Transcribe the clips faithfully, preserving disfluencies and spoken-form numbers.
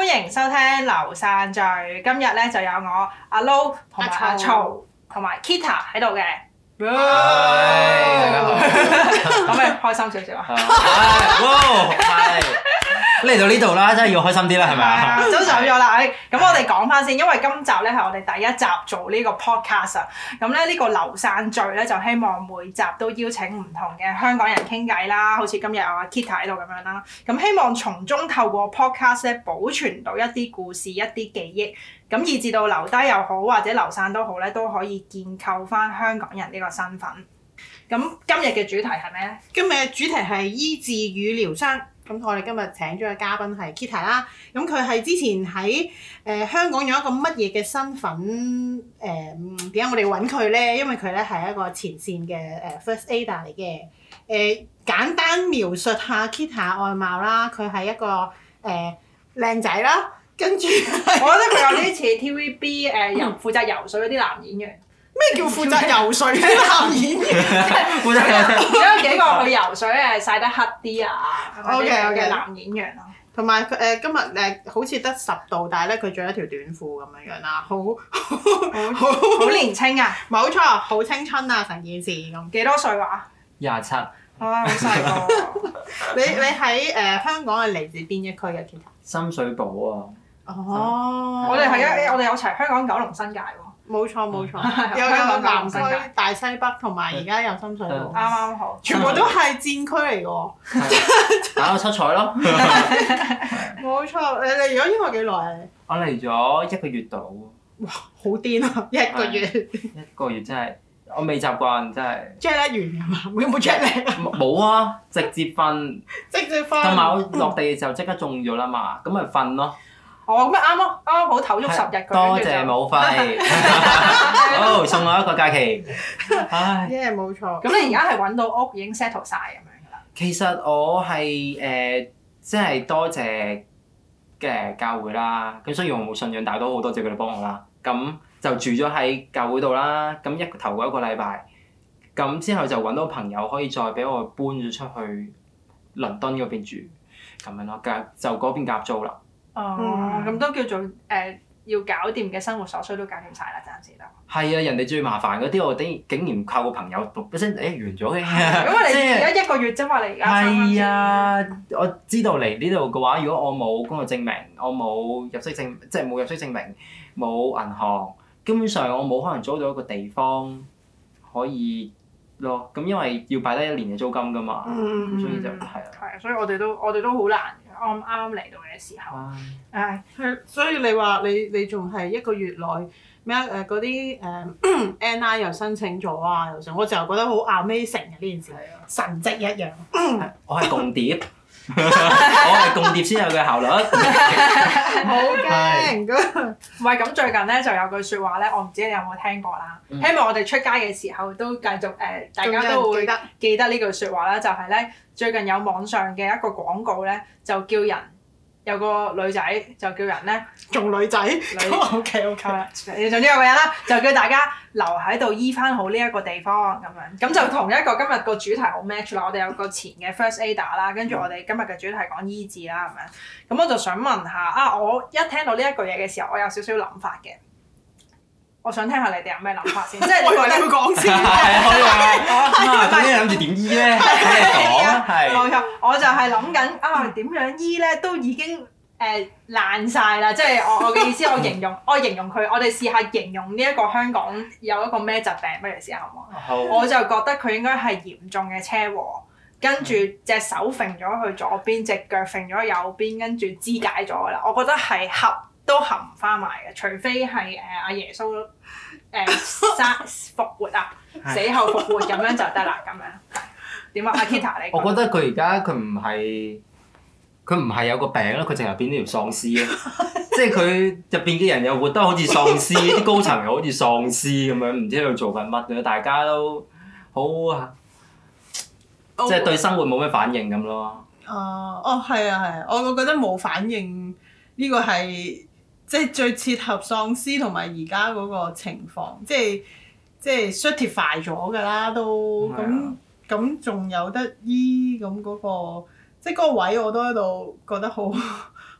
迎收聽流散聚。今日咧就有我阿 Lo 同埋阿曹同埋 Kita 喺度嘅。 係，大家好。 可唔可以開心少少啊？ 係，係。嚟到呢度啦，真係要開心啲啦，係咪啊？ 都走咗啦，咁我哋講翻先，因為今集咧係我哋第一集做呢個 podcast 啊。咁咧呢個流散聚咧就希望每集都邀請唔同嘅香港人傾偈啦，好似今日有阿 Kita 喺度咁樣啦。咁希望從中透過 podcast 咧保存到一啲故事、一啲記憶，咁以至到留低又好或者流散都好咧，都可以建構翻香港人呢個身份。咁今日嘅主題係咩咧？ 今日嘅主題係醫治與療傷。咁我哋今日請咗嘅嘉賓係 Kita 啦。咁佢係之前喺誒、呃、香港有一個乜嘢嘅身份？誒點解我哋揾佢咧？因為佢咧係一個前線嘅誒 First Aider 嚟嘅。誒、呃、簡單描述下 Kita 外貌啦，佢係一個誒靚仔啦，跟住我覺得佢有啲似 T V B 誒、呃、遊負責游水嗰啲男演員。 咩叫負責游水嘅男演員？ 負責有幾個去游水誒曬得黑啲啊嗰啲嘅男演員咯。 同埋佢誒今日誒好似得十度，但係咧佢着一條短褲咁樣樣啦，好好好年青啊！ 冇錯，好青春啊成件事咁。 幾多歲話？ 廿七。 啊，好細個。 你你喺誒、呃、香港係嚟自邊一區嘅 Kita？ 深水埗啊！ 哦， 我哋係一我哋有齊香港、九龍、新界喎。 冇錯冇錯， 嗯、 有有南區新界、 大西北同埋而家有深水埗， 啱啱好， 全部都係戰區嚟嘅喎。 打到七彩咯！ 冇錯，你嚟咗英國幾耐啊？ 我嚟咗一個月度。 哇！好癲啊！一個月。 一個月真係，我未習慣真係。 jet lag 完㗎嘛？有冇 jet lag 啊？ 冇啊！直接瞓。 直接瞓。 同埋我落地嘅時候即刻中咗啦嘛，咁咪瞓咯。 哦，咁咪啱咯，啱啱好唞足十日佢。 多謝冇費。好，送我一個假期。唉。 耶，冇錯。 咁你而家係揾到屋已經 settle 晒咁樣㗎啦？ 其實我係誒，即係多謝嘅教會啦。咁雖然我冇信仰，但係都好多謝佢哋幫我啦。咁就住咗喺教會度啦。咁一頭嗰一個禮拜，咁之後就揾到朋友可以再俾我搬咗出去倫敦嗰邊住，咁樣咯。夾就嗰邊夾租啦。 哦，咁都叫做誒、呃、要搞掂嘅生活所需都搞掂晒啦，暫時都。 係啊，人哋最麻煩嗰啲，我竟竟然靠個朋友一聲誒完咗嘅。 因為你而家一個月啫嘛，你而家。 係啊，我知道嚟呢度嘅話，如果我冇工作證明，我冇入息證，即係冇入息證明，冇銀行，基本上我冇可能租到一個地方可以咯。咁因為要擺低一年嘅租金㗎嘛， 嗯、 所以就係啊。 係啊，所以我哋都我哋都好難。啱啱嚟到嘅時候，唉， 係，所以你話你你仲係一個月內咩誒嗰啲誒 N I 又申請咗啊，又成，我就覺得好 amazing 嘅呢件事，神蹟一樣。 我係共諜，我係共諜先有嘅效率。 好驚㗎！ 唔係咁，最近咧就有句説話咧，我唔知你有冇聽過啦。 嗯、 希望我哋出街嘅時候都繼續誒、呃，大家都會記得呢句説話啦。就係、是、咧，最近有網上嘅一個廣告咧，就叫人有個女仔就叫人咧做女仔。 女 OK OK。 你總之有個人啦，就叫大家留喺度醫翻好呢一個地方咁樣。咁就同一個今日個主題好 match 啦。我哋有個前嘅 First Aider 啦，跟住我哋今日嘅主題講醫治啦咁樣。咁我就想問下啊，我一聽到呢一句嘢嘅時候，我有少少諗法嘅。我想聽下你哋有咩諗法先，即係我以為你會講先。 係啊，我咁你諗住點醫咧？你講啊，係。 冇錯，我就係諗緊啊點樣醫咧，都已經誒、呃、爛晒啦。即係我我嘅意思，我形容我形容佢，我哋試下形容呢一個香港有一個咩疾病，不如試下好唔好？ 好。 我就覺得佢應該係嚴重嘅車禍，跟住隻手揈咗去左邊，隻腳揈咗右邊，跟住肢解咗㗎啦。我覺得係合都合唔翻埋嘅，除非係誒阿耶穌誒生復活啊，死後復活咁樣就得啦，咁樣點啊？阿 Kita 你我覺得佢而家佢唔係佢唔係有個病咯，佢淨係變咗條喪屍咯。即係佢入邊嘅人又活得好似喪屍，啲高層又好似喪屍咁樣，唔知喺度做緊乜嘅，大家都好啊，即係對生活冇咩反應咁咯。 哦、呃，哦，係啊，係啊，我我覺得冇反應呢個係。即係最切合喪屍同埋而家嗰個情況，即係即係 certify 咗㗎啦，都咁咁仲有得醫咁嗰個，即係嗰個位我都喺度覺得好好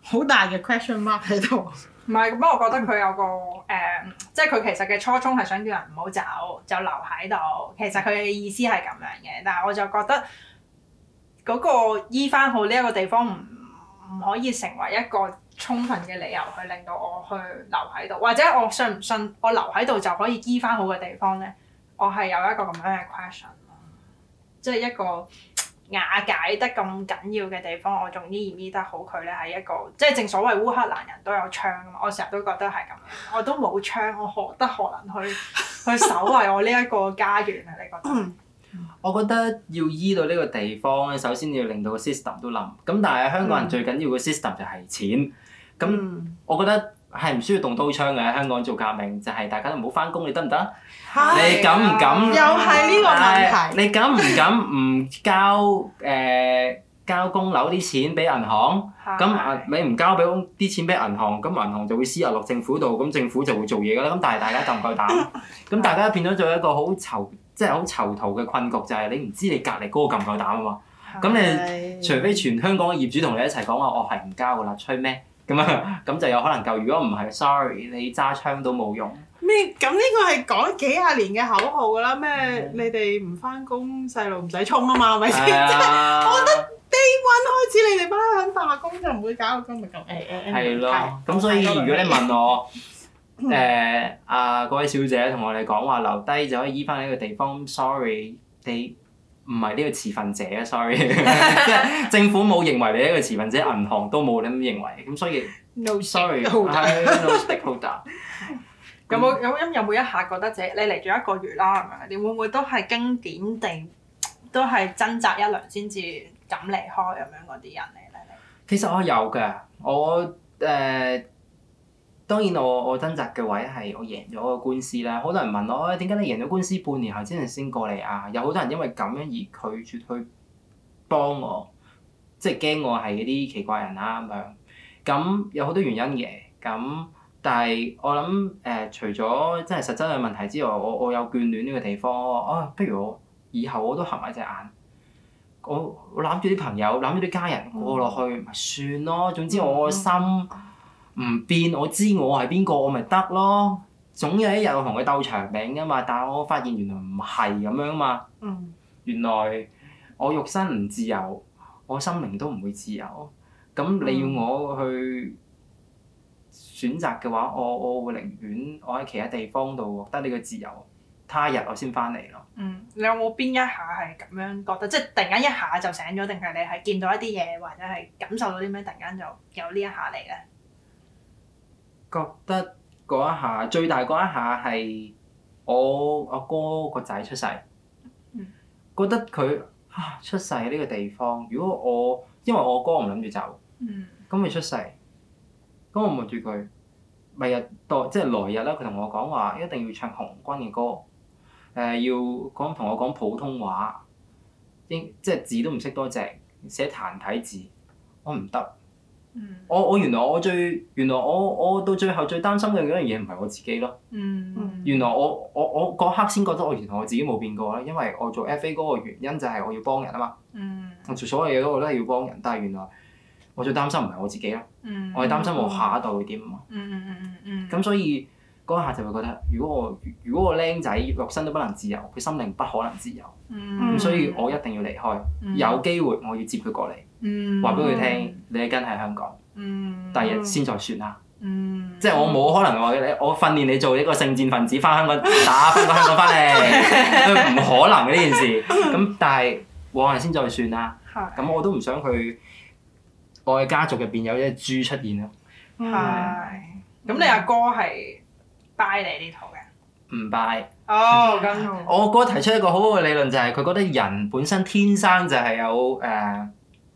好大嘅 question mark 喺度。 唔係，不過我覺得佢有個誒、呃，即係佢其實嘅初衷係想叫人唔好走，就留喺度。其實佢嘅意思係咁樣嘅，但係我就覺得嗰個醫翻好呢一個地方唔唔可以成為一個充分嘅理由去令到我去留喺度，或者我信唔信我留喺度就可以醫翻好嘅地方咧？我係有一個咁樣嘅 question 咯，即係一個瓦解得咁緊要嘅地方，我仲醫唔醫得好佢咧？係一個即係正所謂烏克蘭人都有槍啊嘛，我成日都覺得係咁樣，我都冇槍，我何德何能去去守衞我呢一個家園啊？你覺得？ 我覺得要醫到呢個地方咧，首先要令到個 system 都冧。咁但係香港人最緊要嘅 system 就係錢。咁、嗯、我覺得係唔需要動刀槍嘅。香港做革命就係、是、大家都唔好翻工，你得唔得？你敢唔敢？ 又係呢個問題。 你敢唔敢唔交誒、呃、交供樓啲錢俾銀行？咁啊你唔交俾啲錢俾銀行，咁銀行就會私入落政府度，咁政府就會做嘢㗎啦。咁但係大家夠唔夠膽？咁大家變咗做一個好囚。即係好囚徒嘅困局，就係、是、你唔知你隔離嗰個夠唔夠膽啊嘛。咁你除非全香港嘅業主同你一齊講話，我係唔交㗎啦，吹咩？咁啊，咁就有可能夠。如果唔係 ，sorry，你揸槍都冇用。 咩？咁呢個係講幾廿年嘅口號㗎啦。咩？嗯、你哋唔翻工，細路唔使衝啊嘛，係咪先？即係我覺得 day one 開始，你哋班肯罷工就唔會搞到今日咁。誒誒誒。係咯。咁所以如果你問我，誒啊嗰位小姐同我哋講話留低就可以醫翻呢個地方 ，sorry， 你唔係呢個持份者啊 ，sorry， 即係政府冇認為你係一個持份者，銀行都冇咁認為，咁所以 no sorry，係 no stakeholder。 有冇有有冇一下覺得自己你嚟咗一個月啦，係咪？你會唔會都係經典地都係掙扎一輪先至敢離開咁樣嗰啲人嚟咧？ 其實我有㗎，我誒。呃當然我我掙扎嘅位係我贏咗個官司啦，好多人問我誒點解你贏咗官司半年後先至先過嚟啊？有好多人因為咁樣而拒絕去幫我，即係驚我係嗰啲奇怪人啦咁樣。咁有好多原因嘅，咁但係我諗誒、呃，除咗真係實質嘅問題之外，我我有眷戀呢個地方，我啊不如我以後我都合埋隻眼，我我攬住啲朋友，攬住啲家人過落去咪、嗯、算咯。總之我個心唔變，我知我係邊個，我咪得咯。總有一日我同佢鬥長命㗎嘛，但係我發現原來唔係咁樣嘛。 嗯、 原來我肉身唔自由，我心靈都唔會自由。咁你要我去選擇嘅話，我我會寧願我喺其他地方度獲得呢個自由，他日我先翻嚟咯。 嗯，你有冇邊一下係咁樣覺得？即係突然間一下就醒咗，定係你係見到一啲嘢，或者係感受到啲咩？突然間就有呢一下嚟咧？ 覺得嗰一下最大嗰一下係我阿哥個仔出世， 嗯、 覺得佢啊出世喺呢個地方。如果我因為我阿哥唔諗住走，咁佢、嗯、出世，咁我望住佢，咪日代即係來日啦。佢同我講話一定要唱紅軍嘅歌，誒、呃、要講同我講普通話，英即係字都唔識多隻，寫繁體字，我唔得。嗯、我我原來我最原來我我到最後最擔心嘅嗰樣嘢唔係我自己咯。 嗯、 原來我我我嗰刻先覺得我原來我自己冇變過啦，因為我做 F A 嗰個原因就係我要幫人啊嘛。 嗯、 我做所有嘢我都係要幫人，但係原來我最擔心唔係我自己咯。 嗯、 我係擔心我下一代會點啊嘛。咁、 嗯嗯嗯嗯嗯、所以嗰下就會覺得，如果我如果我僆仔肉身都不能自由，佢心靈不可能自由。咁、 嗯、 所以我一定要離開。 嗯、 有機會我要接佢過嚟，話俾佢聽，你係跟喺香港。 嗯， 第日先再算啦。 嗯， 即係我冇可能話你，我訓練你做一個聖戰分子，翻香港打翻個香港翻嚟，唔可能嘅呢件事。咁但係往日先再算啦。咁是我都唔想佢我嘅家族入邊有一隻豬出現咯。 係。咁你阿哥係 buy 你呢套嘅？唔 buy。 哦，咁。 我哥提出一個好好嘅理論，就係佢覺得人本身天生就係有誒。呃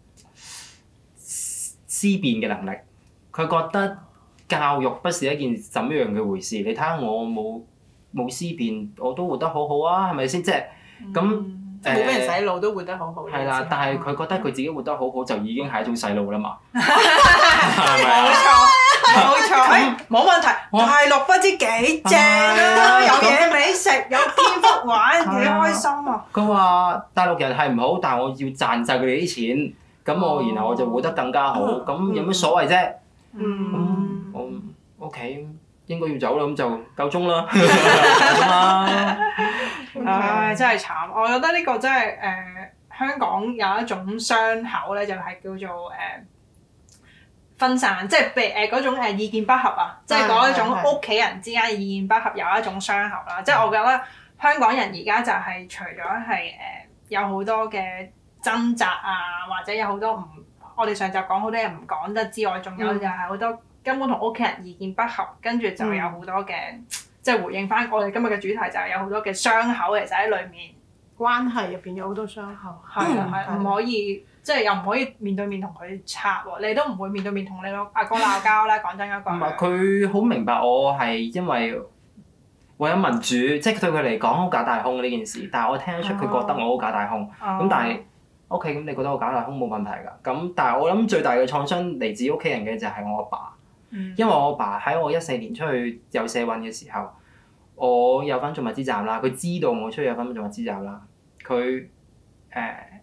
思辨嘅能力，佢覺得教育不是一件怎麼樣嘅回事。你睇下我冇冇思辨，我都活得好好啊，係咪先？即係咁誒， 冇俾人洗腦都活得好好。 係啦，但係佢覺得佢自己活得好好，就已經係一種洗腦啦嘛。 係咪？冇錯，冇錯，冇問題。大陸不知幾正啊！有嘢美食，有蝙蝠玩，幾開心啊！ 佢話大陸人係唔好，但係我要賺晒佢哋啲錢。 咁我然後我就活得更加好，咁有咩所謂啫？ 嗯， 我屋企應該要走啦，咁就夠鐘啦，夠鐘啦。 唉，真係慘！我覺得呢個真係誒、呃、香港有一種傷口咧，就係、是、叫做誒、呃、分散，即係被誒嗰種誒意見不合啊，即係嗰一種屋企人之間嘅意見不合有一種傷口啦。即係我覺得香港人而家就係除咗係誒有好多嘅掙扎啊，或者有好多唔，我哋上集講好多嘢唔講得之外，仲有就係好多根本同屋企人意見不合，跟住就有好多嘅。嗯即係回應翻我哋今日嘅主題，就係有好多嘅傷口其實喺裏面， 關係入邊有好多傷口。 係啊係，唔可以即係又唔可以面對面同佢拆喎，你都唔會面對面同你個阿哥鬧交啦。講真一句。 唔係佢好明白我係因為為咗民主，即係對佢嚟講好假大空呢件事，但係我聽得出佢覺得我好假大空。咁、哦、但係 OK，咁你覺得我假大空冇問題㗎。咁但係我諗最大嘅創傷嚟自屋企人嘅就係我阿爸，爸。因為我阿爸喺我一四年出去有社運嘅時候，我有份做物資站啦，佢知道我出去有份做物資站啦，佢誒、呃、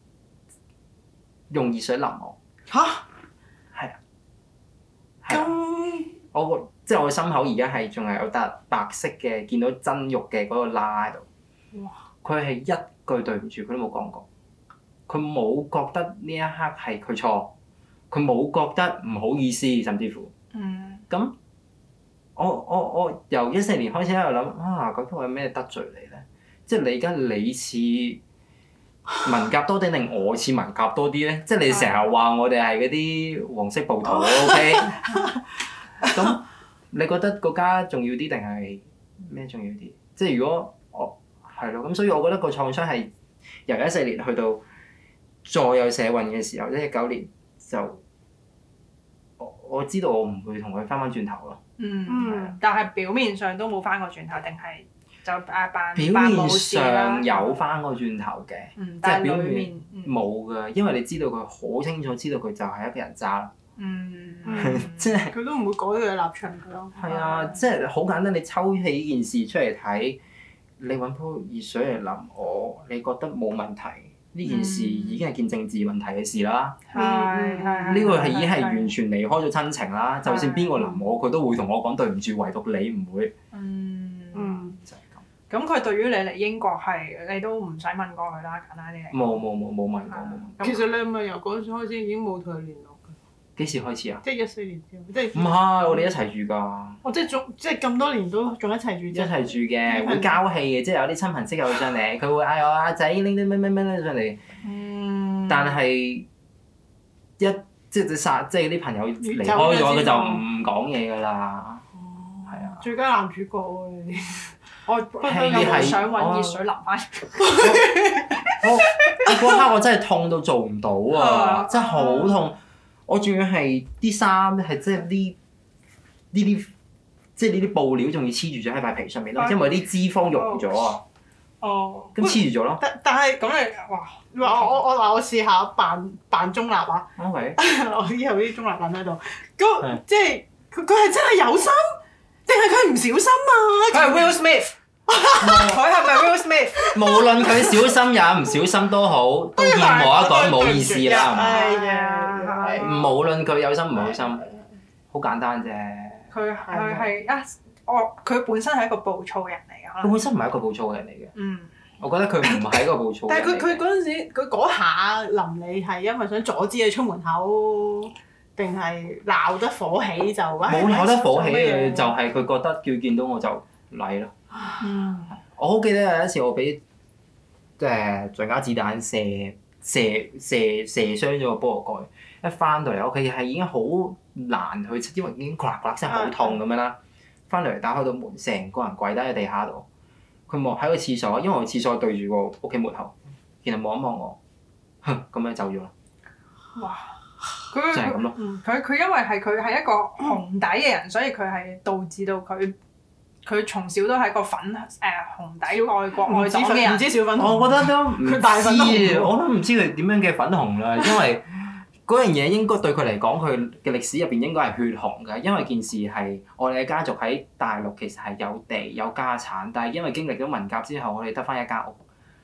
用熱水淋我。 吓？係啊。咁我個即係我心口而家係仲係有笪白色嘅，見到真肉嘅嗰個疤喺度。哇！佢係一句對唔住佢都冇講過，佢冇覺得呢一刻係佢錯，佢冇覺得唔好意思，甚至乎。嗯，咁我我我由一四年開始喺度諗啊，究竟我有咩得罪你咧？即係你而家你似文革多啲定我似文革多啲咧？即係你成日話我哋係嗰啲黃色暴徒 ，OK？咁你覺得個家重要啲定係咩重要啲？即係如果我係咯，咁所以我覺得個創傷係由一四年去到再有社運嘅時候，即係一九年就。我知道我唔會同佢翻返轉頭咯。 嗯，嗯但係表面上都冇翻過轉頭，定係就誒扮扮冇事啦。表面上有翻過轉頭嘅， 嗯、 即係表面冇㗎，因為你知道佢好清楚知道佢就係一個人渣。 嗯， 即係佢都唔會改佢嘅立場㗎咯。 係啊，即係好簡單，你抽起呢件事出嚟睇，你揾煲熱水嚟淋我，你覺得冇問題？呢件事已經係件政治問題嘅事啦。 係係呢個係已經係完全離開咗親情啦。就算邊個淋我，佢都會同我講對唔住，唯獨你唔會。 嗯嗯， 就係咁。咁佢對於你嚟英國係，你都唔使問過佢啦，簡單啲嚟。 冇冇冇冇問過冇。 其實你係咪由嗰陣時開始已經冇同佢聯絡㗎？ 幾時開始啊？ 即係一四年之後，即係。 唔係，我哋一齊住㗎。 哦，即係仲即係咁多年都仲一齊住。 一齊住嘅，會交戲嘅，即係有啲親朋戚友上嚟，佢會嗌我阿仔拎啲咩咩咩拎上嚟。嗯。但係一即係殺，即係啲朋友離開咗，佢就唔講嘢㗎啦。哦。係啊。 最佳男主角喎你。 我不嬲有冇想揾熱水淋翻？ 我嗰刻我真係痛到做唔到啊！真係好痛。我仲要係啲衫係即係呢呢啲，即係呢啲布料仲要黐住咗喺塊皮上面咯，因為啲脂肪溶咗啊。 哦。 咁黐住咗咯。 但但係咁你哇！我我我嗱我試下扮扮中立啊。 OK。 我以後啲中立人喺度，咁即係佢佢係真係有心，定係佢唔小心啊？ 佢係 Will Smith。佢係咪 Will Smith？ 無論佢小心也唔小心都好，都欠我一個冇意思啦。 係啊。 無論佢有心唔好心，好簡單啫。 佢佢係啊，我佢本身係一個暴躁人嚟㗎。 佢本身唔係一個暴躁嘅人嚟嘅。 嗯。 我覺得佢唔係一個暴躁嘅人。 但係佢佢嗰陣時，佢嗰下淋你係因為想阻止你出門口，定係鬧得火起就？ 冇鬧得火起嘅，就係佢覺得叫見到我就嚟咯。 嗯。 我好記得有一次我俾誒橡膠子彈射射射射傷咗個菠蘿蓋。一翻到嚟屋企係已經好難去，因為已經咔啦咔啦聲好痛咁樣啦。翻嚟打開到門，成個人跪低喺地下度。佢望喺個廁所，因為我廁所對住個屋企門口，然後望一望我，哼咁樣走咗啦。 哇！佢就係咁咯。 佢佢因為係佢係一個紅底嘅人，所以佢係導致到佢佢從小都係一個粉誒、呃、紅底愛國愛黨嘅人。 唔知小粉紅。 我覺得都唔知， 大粉紅我都唔知佢點樣嘅粉紅啦，因為。嗰樣嘢應該對佢嚟講，佢嘅歷史入邊應該係血紅嘅，因為件事係我哋嘅家族喺大陸其實係有地有家產，但係因為經歷咗文革之後，我哋得翻一間屋，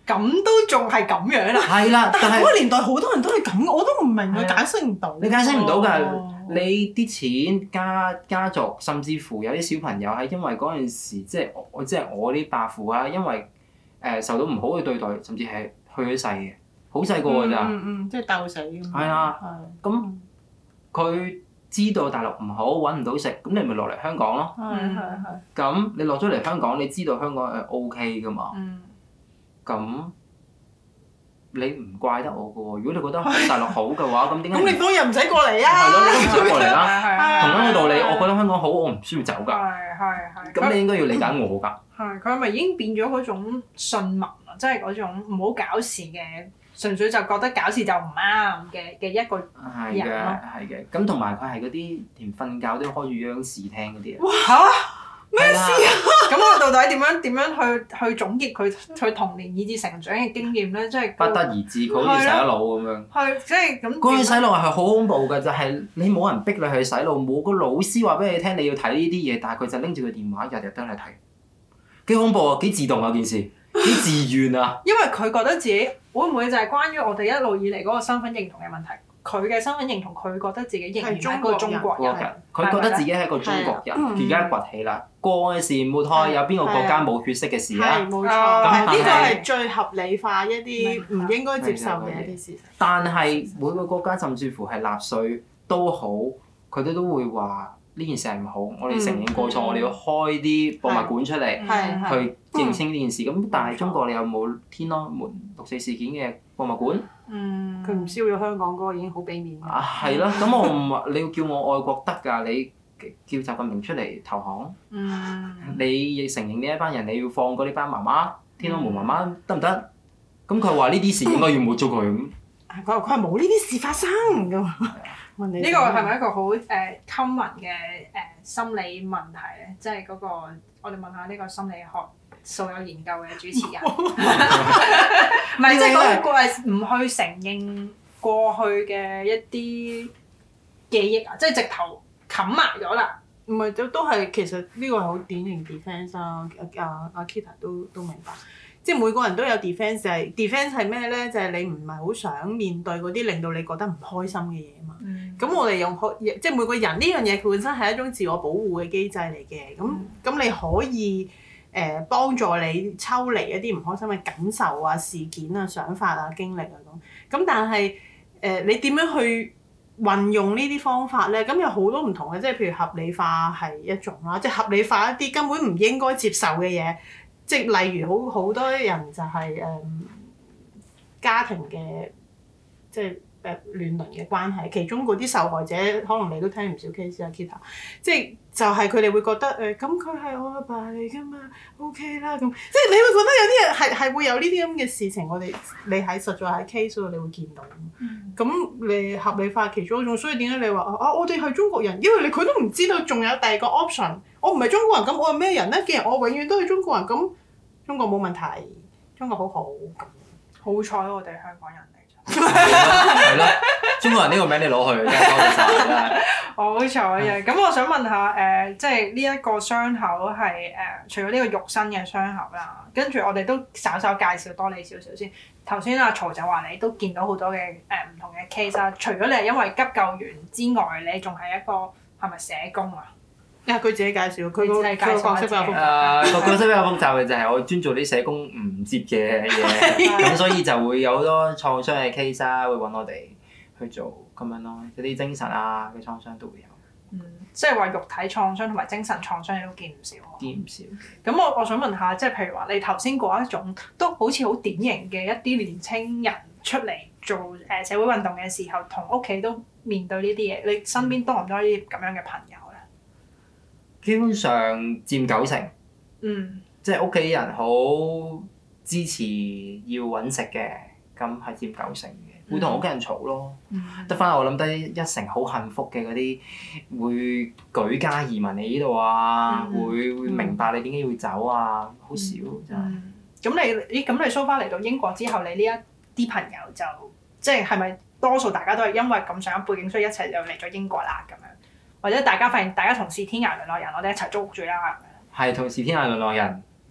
咁都仲係咁樣啊？ 係啦，但係嗰個年代好多人都係咁，我都唔明啊， 係啊解釋唔到。 你解釋唔到㗎。 哦你啲錢家家族，甚至乎有啲小朋友係因為嗰陣時，即係我即係我啲伯父啊，因為誒、呃、受到唔好嘅對待，甚至係去咗世嘅，好細個㗎咋。 嗯嗯嗯，即係鬥死咁。 係啊， 係。 咁佢知道大陸唔好，揾唔到食，咁你咪落嚟香港咯。 係係係。 咁你落咗嚟香港，你知道香港係 O K 㗎嘛？ 嗯。 咁你唔怪得我㗎喎。如果你覺得大陸好嘅話，咁點解？ 咁你當日唔使過嚟啊！ 係咯，你都唔使過嚟啦。 係係同樣嘅道理，我覺得香港好，我唔需要走㗎。 係係係。 咁你應該要理解我㗎。 係佢係咪已經變咗嗰種信民啊？即係嗰種唔好搞事嘅，純粹就覺得搞事就唔啱嘅嘅一個係嘅， 人咯。 係嘅。咁同埋佢係嗰啲連瞓覺都要開住央視聽嗰啲啊。 嚇！ 咩事啊？ 咁我到底點樣點樣去去總結佢佢童年以至成長嘅經驗咧？即係不得而知，佢好似洗咗腦咁樣。 係即係咁。 嗰個洗腦係好恐怖㗎，就係你冇人逼你去洗腦，冇個老師話俾你聽你要睇呢啲嘢，但係佢就拎住個電話日日都嚟睇，幾恐怖啊！幾自動啊件事，幾自願啊！ 因為佢覺得自己會唔會就係關於我哋一路以嚟嗰個身份認同嘅問題？佢嘅身份認同，佢覺得自己仍然係一個中國人。 人，佢覺得自己係一個中國人， 係而家崛起啦。過嘅時抹開，有邊個國家冇血色嘅事啊？ 係冇錯， 啊呢個係係最合理化一啲唔應該接受嘅一啲事實。 但係每個國家甚至乎係納粹都好，佢哋都會話呢件事係唔好，我哋承認過錯， 嗯我哋要開啲博物館出嚟係係去認清呢件事。咁但係中國你有冇天安門六四事件嘅博物館？ 嗯。 佢唔燒咗香港嗰個已經好俾面嘅。 啊，係咯，咁我唔話你要叫我愛國得㗎，你叫習近平出嚟投降， 嗯。 你亦承認呢一班人，你要放過呢班媽媽，天安門媽媽得唔得？咁佢話呢啲事應該要抹咗佢咁。 佢話佢話冇呢啲事發生咁。問你呢個係咪一個好誒 common 嘅誒心理問題咧？即係嗰個我哋問下呢個心理學素有研究嘅主持人，唔係即係嗰個係唔去承認過去嘅一啲記憶啊，即係直頭冚埋咗啦。 唔係都都係其實呢個係好典型 defence 啊！阿阿 Kita 都都明白，即係每個人都有 defence 係 defence 係咩咧？就係、是、你唔係好想面對嗰啲令到你覺得唔開心嘅嘢啊嘛。咁、嗯、我哋用開即係每個人呢樣嘢，佢本身係一種自我保護嘅機制嚟嘅。咁咁、嗯、你可以誒、呃、幫助你抽離一啲唔開心嘅感受啊、事件啊、想法啊、經歷啊咁。咁但係誒、呃、你點樣去運用呢啲方法咧？咁有好多唔同嘅，即係譬如合理化係一種啦，即係合理化一啲根本唔應該接受嘅嘢，即係例如好好多人就係、是、誒、嗯、家庭嘅即係誒亂倫嘅關係，其中嗰啲受害者可能你都聽唔少 case 啊 Kita，即係就係佢哋會覺得誒咁佢係我阿爸嚟㗎嘛 ，OK 啦咁，即係你會覺得有啲人係係會有呢啲咁嘅事情，我哋你喺實在喺 case 度你會見到。咁、嗯、你合理化其中一種，所以點解你話啊我哋係中國人？因為你佢都唔知道仲有第二個 option，我唔係中國人，咁我係咩人咧？既然我永遠都係中國人，咁中國冇問題，中國好好咁。 好彩我哋香港人嚟咗。 係咯，中國人呢個名你攞去真係多謝晒真係。 好彩嘅，咁我想問下誒、呃，即係呢一個傷口係誒、呃，除咗呢個肉身嘅傷口啦，跟住我哋都稍稍介紹多你少少先。頭先阿曹就話你都見到好多嘅誒唔同嘅 case 啦，除咗你係因為急救員之外，你仲係一個係咪社工啊？ 啊！佢自己介紹，佢個佢個角色比較複雜。誒個角色比較複雜嘅就係我專做啲社工唔接嘅嘢，咁所以就會有好多創傷嘅 case 啊，會揾我哋去做咁樣咯，有啲精神啊嘅創傷都會有。 嗯，即係話肉體創傷同埋精神創傷你都見唔少。 見唔少。 咁我我想問下，即係譬如話你頭先嗰一種都好似好典型嘅一啲年青人出嚟做誒社會運動嘅時候，同屋企都面對呢啲嘢，你身邊多唔多呢啲咁樣嘅朋友咧？ 基本上佔九成。 嗯。即係屋企人好支持要揾食嘅，咁係佔九成嘅。會同屋企人嘈咯，得翻、嗯、我諗得一成好幸福嘅嗰啲會舉家移民嚟呢度啊，嗯、會會明白你點解要走啊，好、嗯、少真係。咁、 嗯、你咦咁你 so far 嚟到英國之後，你呢一啲朋友就即係係咪多數大家都係因為咁上一背景，所以一齊就嚟咗英國啦咁樣？或者大家發現大家同是天涯淪落人，我哋一齊租屋住啦咁樣？係同是天涯淪落人。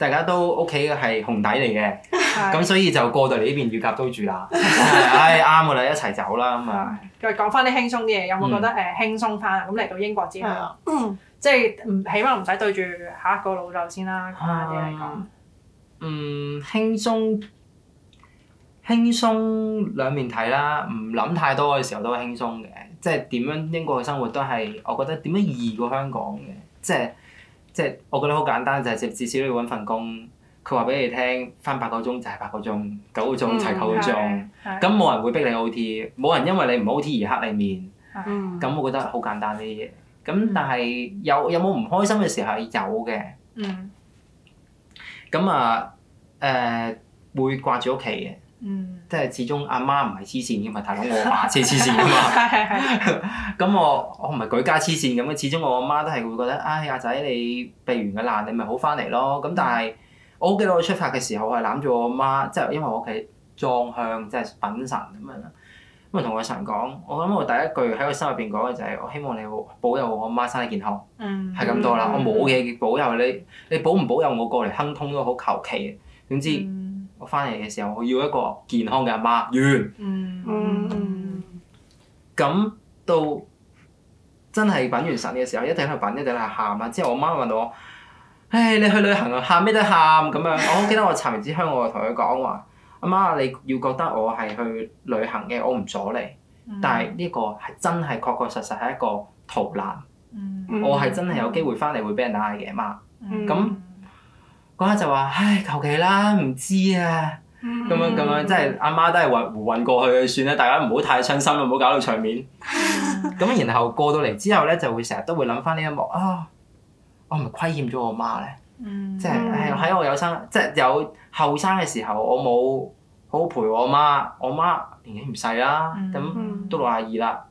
大家都屋企係紅底嚟嘅，咁係所以就過到嚟呢邊乳鴿都住啦。唉啱㗎啦，一齊走啦咁啊！ 再講翻啲輕鬆啲嘢，有冇覺得誒輕鬆翻啊？咁嚟到英國之後， 係啊， 即係唔起碼唔使對住下一個老豆先啦，簡單啲嚟講。 嗯，輕鬆輕鬆兩面睇啦，唔諗太多嘅時候都係輕鬆嘅，即係點樣英國嘅生活都係我覺得點樣易過香港嘅，即係即係我覺得好簡單，就係、至至少你要揾份工，佢話俾你聽翻八個鐘就係八個鐘，九個鐘就係九個鐘，咁冇、嗯、人會逼你 O T， 冇人因為你唔 O T 而黑你面，咁、嗯、我覺得好簡單呢啲嘢。咁但係有有冇唔開心嘅時候係有嘅。嗯咁啊，誒、呃、會掛住屋企嘅，嗯、即係始終阿媽唔係黐線嘅嘛，大佬我阿爸先黐線嘅嘛。咁我我唔係舉家黐線咁嘅，始終我阿媽都係會覺得，唉阿仔你避完個難，你咪好翻嚟咯。咁但係我好記得我出發嘅時候，我係攬住我阿媽，即係因為我屋企裝香，即係品神咁樣啦。咁啊同我神講，我諗我第一句喺個心入邊講嘅就係，我希望你保佑我阿媽身體健康，係咁、嗯、多啦。嗯、我冇嘢保佑你，你保唔保佑我過嚟亨通都好求其嘅。總之、嗯、我翻嚟嘅時候，我要一個健康嘅阿媽，完。咁、嗯嗯、到真係品完神嘅時候，一定喺度品，一定喺度喊啦。之後我媽問我：唉，你去旅行啊，喊咩都喊咁樣。我好記得我查完支香，我就同佢講話。阿媽，你要覺得我係去旅行嘅，我唔阻你。嗯、但係呢個係真係確確實實係一個逃難。嗯、我係真係有機會翻嚟會俾人嗌嘅，媽。咁嗰刻就話：唉，求其啦，唔知啊。咁樣咁樣，即係阿媽都係混胡混過去嘅算啦，大家唔好太傷心啦，唔好搞到場面。咁、嗯、然後過到嚟之後咧，就會成日都會諗翻呢一幕啊！我係咪虧欠咗我媽咧？嗯、即係誒喺我有生即係有後生嘅時候，我冇好好陪我媽。我媽年紀唔細啦，咁、嗯、都六廿二啦。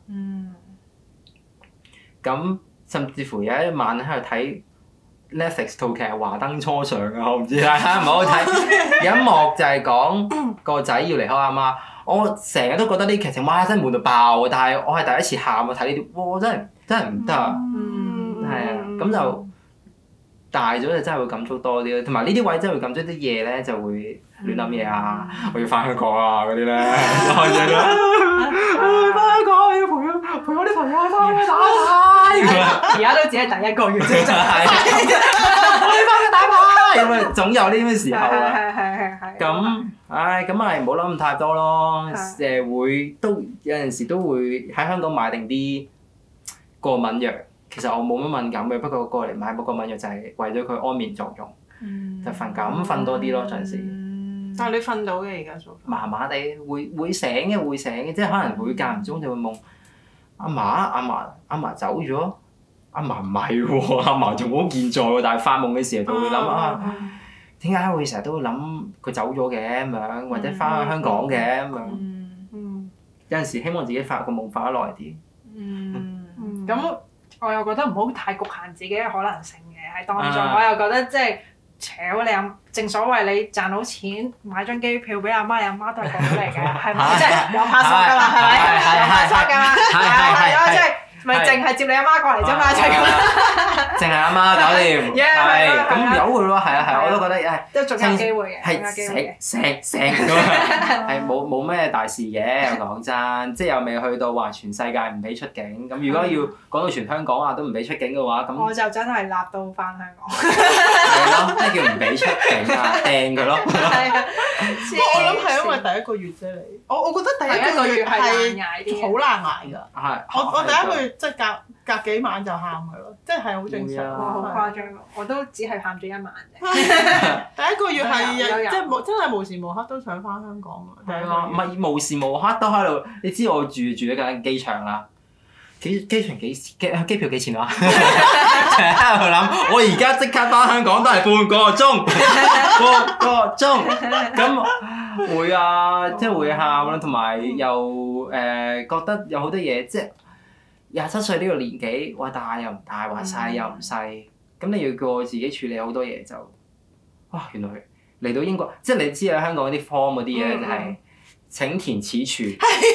咁、嗯、甚至乎有一晚喺度睇 Netflix 套劇《華燈初上》啊，我唔知大家唔好睇。有一幕就係講個仔要離開阿媽，我成日都覺得呢啲劇情哇真係悶到爆啊！但係我係第一次喊啊，睇呢啲哇真係真係唔得啊！係啊、嗯，咁就。大咗就真係會感觸多啲咯，同埋呢啲位真係會感觸啲嘢咧，就會亂諗嘢啊！嗯、我要翻香港啊嗰啲咧，開嘢啦！翻香港要陪我陪我啲朋友去翻去打牌。 而家都只係第一個月啫，就係我要翻去打牌。咁啊，總有呢啲時候啊。 係係係係。 咁，唉，咁咪唔好諗咁太多咯。誒會都有陣時都會喺香港買定啲過敏藥。其實我冇乜敏感嘅，不過過嚟買嗰個敏藥就係為咗佢安眠作用，嗯、就瞓覺咁瞓多啲咯，陣時。 嗯、但係你瞓到嘅而家做？ 麻麻地會會醒嘅會醒嘅，即係可能會間唔中就會夢阿嫲阿嫲阿嫲走咗，阿嫲唔係喎，阿嫲仲好健在喎，但係發夢嘅時候就會諗啊，點解會成日都會諗佢走咗嘅咁樣，或者翻去香港嘅咁樣。嗯嗯、有陣時希望自己發個夢發得耐啲。 嗯，咁、嗯。我又覺得唔好太局限自己嘅可能性嘅喺當中，啊、我又覺得即係，扯你阿正所謂你賺到錢買張機票俾阿媽，你阿媽都係過到嚟嘅，係咪？即係有拍索㗎嘛，係咪？有拍索㗎嘛，係咯，即係咪淨係接你阿媽過嚟啫嘛，就係咁啦。 淨係阿媽搞掂，係咁由佢咯，係啊係啊，我都覺得誒， 都仲有機會嘅， 係成成成咁樣，係冇冇咩大事嘅。講真，即係又未去到話全世界唔俾出境。咁如果要講到全香港啊都唔俾出境嘅話，咁我就真係立到翻香港。 係咯，咩叫唔俾出境啊？掟佢咯。 係啊，我諗係因為第一個月啫，你我我覺得第一個月係好難捱㗎。係，我我第一個月即係隔隔幾晚就喊㗎咯，即係係好正常。 哇！好誇張，我都只係喊咗一晚啫。 第一個月係即係冇真係無時無刻都想翻香港啊！ 係啊，唔係無時無刻都喺度。你知我住住喺緊機場啦，機機場幾機機票幾錢啊？成日喺度諗，我而家即刻翻香港都係半個鐘，半個鐘咁會啊，即係會喊啦，同埋又誒覺得有好多嘢即係。廿七歲呢個年紀，話大又唔大，話細又唔細，咁、嗯、你要叫我自己處理好多嘢就，哇！原來嚟到英國，即係你知啊，香港啲 form 嗰啲嘢就係請填此處，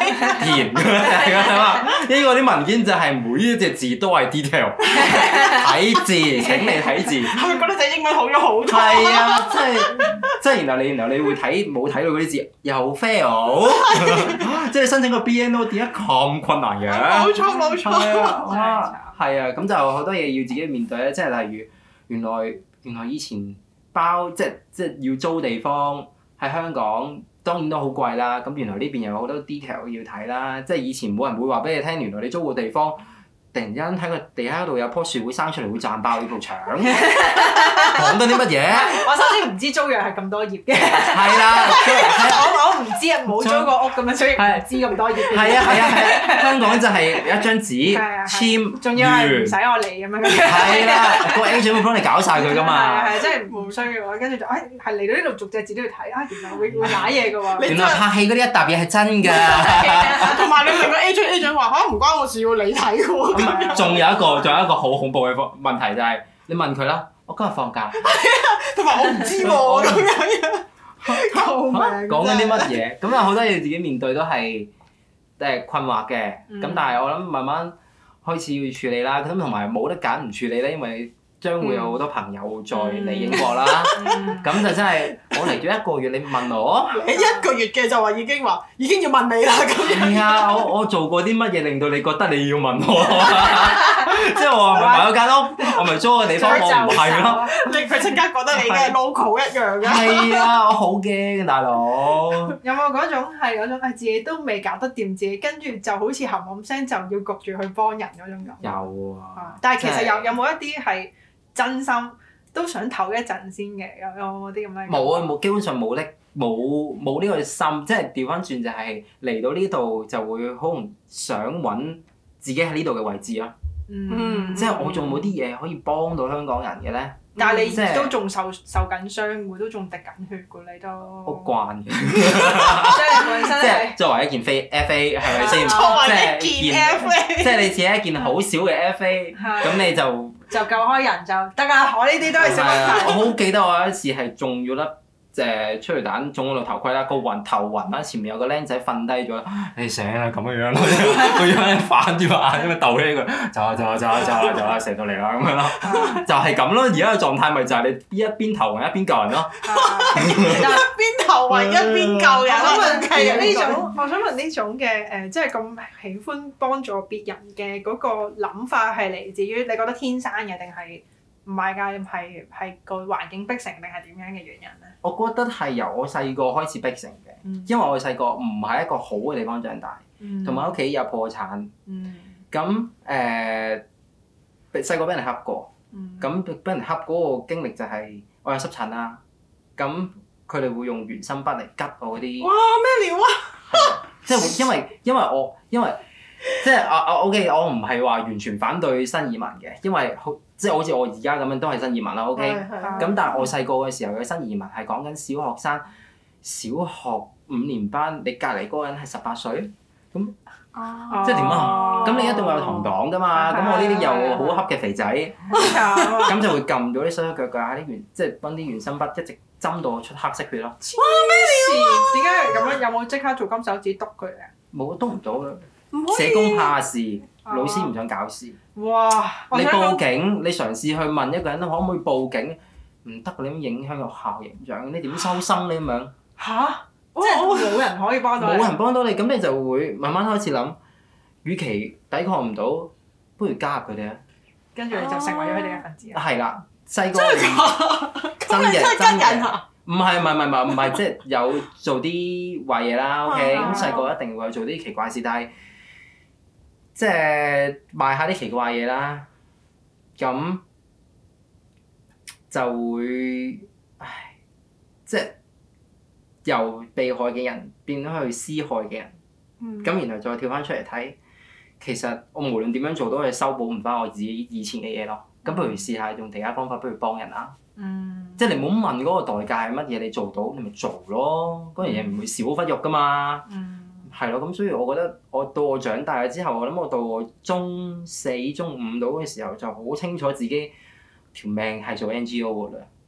填係咁啊！呢個啲文件就係每一隻字都係 detail， 睇字請你睇字。 係咪覺得隻英文好咗好多？ 係啊，即係即係然後你然後你會睇冇睇到嗰啲字又 fail， 即係申請個 B N O 點解咁困難嘅？ 冇錯冇錯。 係啊，哇，係啊，咁就好多嘢要自己面對咧，即係例如原來原來以前包即係即係要租地方喺香港。當然都好貴啦，咁原來呢邊有好多 detail 要睇啦，即係以前冇人會話俾你聽，原來你租個地方，突然之間睇個地下度有棵樹會生出嚟會賺爆呢埲牆，講緊啲乜嘢？ 我首先唔知租約係咁多頁嘅， 係啦， 我我唔知啊，冇租過屋咁樣，所以唔知咁多頁嘅。 係啊係啊係啊！香港就係有一張紙簽， 仲要係唔使我嚟咁樣。 係啦，個 agent 會幫你搞晒佢㗎嘛。 係係，即係唔需要喎，跟住就誒係嚟到呢度逐隻字都要睇啊，原來會會揦嘢㗎喎。 原來拍戲嗰啲一沓嘢係真㗎。 同埋你問個 agent agent 話嚇唔關我事喎，你睇喎。 仲有一個，仲有一個好恐怖嘅問題就係，你問佢啦，我今日放假。 同埋我唔知喎咁樣。救命！ 講緊啲乜嘢？咁有好多嘢自己面對都係誒困惑嘅。咁但係我諗慢慢開始要處理啦。咁同埋冇得揀唔處理咧，因為將會有好多朋友再嚟英國啦。咁就真係我嚟咗一個月，你問我？ 你一個月嘅就話已經話已經要問你啦咁樣。 係啊，我我做過啲乜嘢令到你覺得你要問我？即係我係咪買咗間屋？我咪租個地方？我唔係咯。 你佢即刻覺得你嘅 local 一樣嘅。 係啊，我好驚大佬。 有冇嗰種係嗰種係自己都未搞得掂自己，跟住就好似冚冚聲就要焗住去幫人嗰種感覺？ 有啊。 但係其實有有冇一啲係真心都想唞一陣先嘅？有有冇啲咁樣？ 冇啊，冇，基本上冇力，冇冇呢個心，即係調翻轉就係嚟到呢度就會好唔想揾自己喺呢度嘅位置咯。 嗯， 即係我仲冇啲嘢可以幫到香港人嘅咧。 但係即係你都仲受受緊傷喎，都仲滴緊血㗎，你都。 好慣嘅。 即係本身即係作為一件非 F A 係咪先？ 作為一件 F A， 即係你自己一件好少嘅 F A，咁你就就救開人就得㗎。我呢啲都係小問題。 我好記得我有一次係中咗粒誒催淚彈中咗個頭盔啦，個暈頭暈啦，前面有個僆仔瞓低咗啦，你醒啦咁樣樣咯，個樣反住個眼咁樣鬥起佢，走啊走啊走啊走啊走啊射到嚟啦咁樣咯，就係咁咯。而家嘅狀態咪就係你一邊頭暈一邊救人咯。 一邊頭暈一邊救人。 我想問呢種，我想問呢種嘅誒，即係咁喜歡幫助別人嘅嗰個諗法係嚟自於你覺得天生嘅定係？唔係㗎，係係個環境逼成定係點樣嘅原因咧？ 我覺得係由我細個開始逼成嘅， 嗯、因因為我細個唔係一個好嘅地方長大，同埋屋企有破產，咁誒細個俾人恰過，咁俾、嗯、人恰嗰個經歷就係我有濕疹啦，咁佢哋會用原生筆嚟拮我嗰啲。 哇！咩料啊？ 即係因為因為我因為即係我我 OK，我唔係話完全反對新移民嘅，因為好。即係好似我而家咁樣都係新移民啦 ，OK？咁但係我細個嘅時候嘅新移民係講緊小學生，小學五年班，你隔離嗰個人係十八歲，咁、哦、即係點啊？咁、哦、你一定會有同黨㗎嘛？咁、哦、我呢啲又好恰嘅肥仔，咁就會撳到啲手手腳腳啊啲原，即係幫啲原生筆一直針到出黑色血咯。 哇！咩料啊？點解咁樣？有冇即刻做金手指篤佢啊？ 冇篤唔到啦，社工怕事，哦、老師唔想搞事。 哇！ 你報警，你嘗試去問一個人可唔可以報警，唔得，你咁影響個學校形象，你點收生呢咁樣？ 嚇！即係冇人可以幫到你。冇人幫到你，咁你就會慢慢開始諗，與其抵抗唔到，不如加入佢哋啊！ 跟住你就成為咗佢哋嘅分子啊！ 係啦，細個真係真嘅真嘅， 唔係唔係唔係唔係，即係有做啲壞嘢啦。OK，咁細個一定會有做啲奇怪事，但係。即係賣下啲奇怪嘢啦，咁就會，唉，即係由被害嘅人變咗去施害嘅人，咁、嗯、然後再跳翻出嚟睇，其實我無論點樣做都係修補唔翻我自己以前嘅嘢咯。咁不如試下用其他方法，不如幫人啦。嗯、即係你唔好問嗰個代價係乜嘢，你做到你咪做咯，嗰樣嘢唔會少忽肉噶嘛。嗯係咯，咁所以我覺得我到我長大咗之後，我諗我到我中四、中五到嘅時候就好清楚自己條命係做 N G O 㗎啦。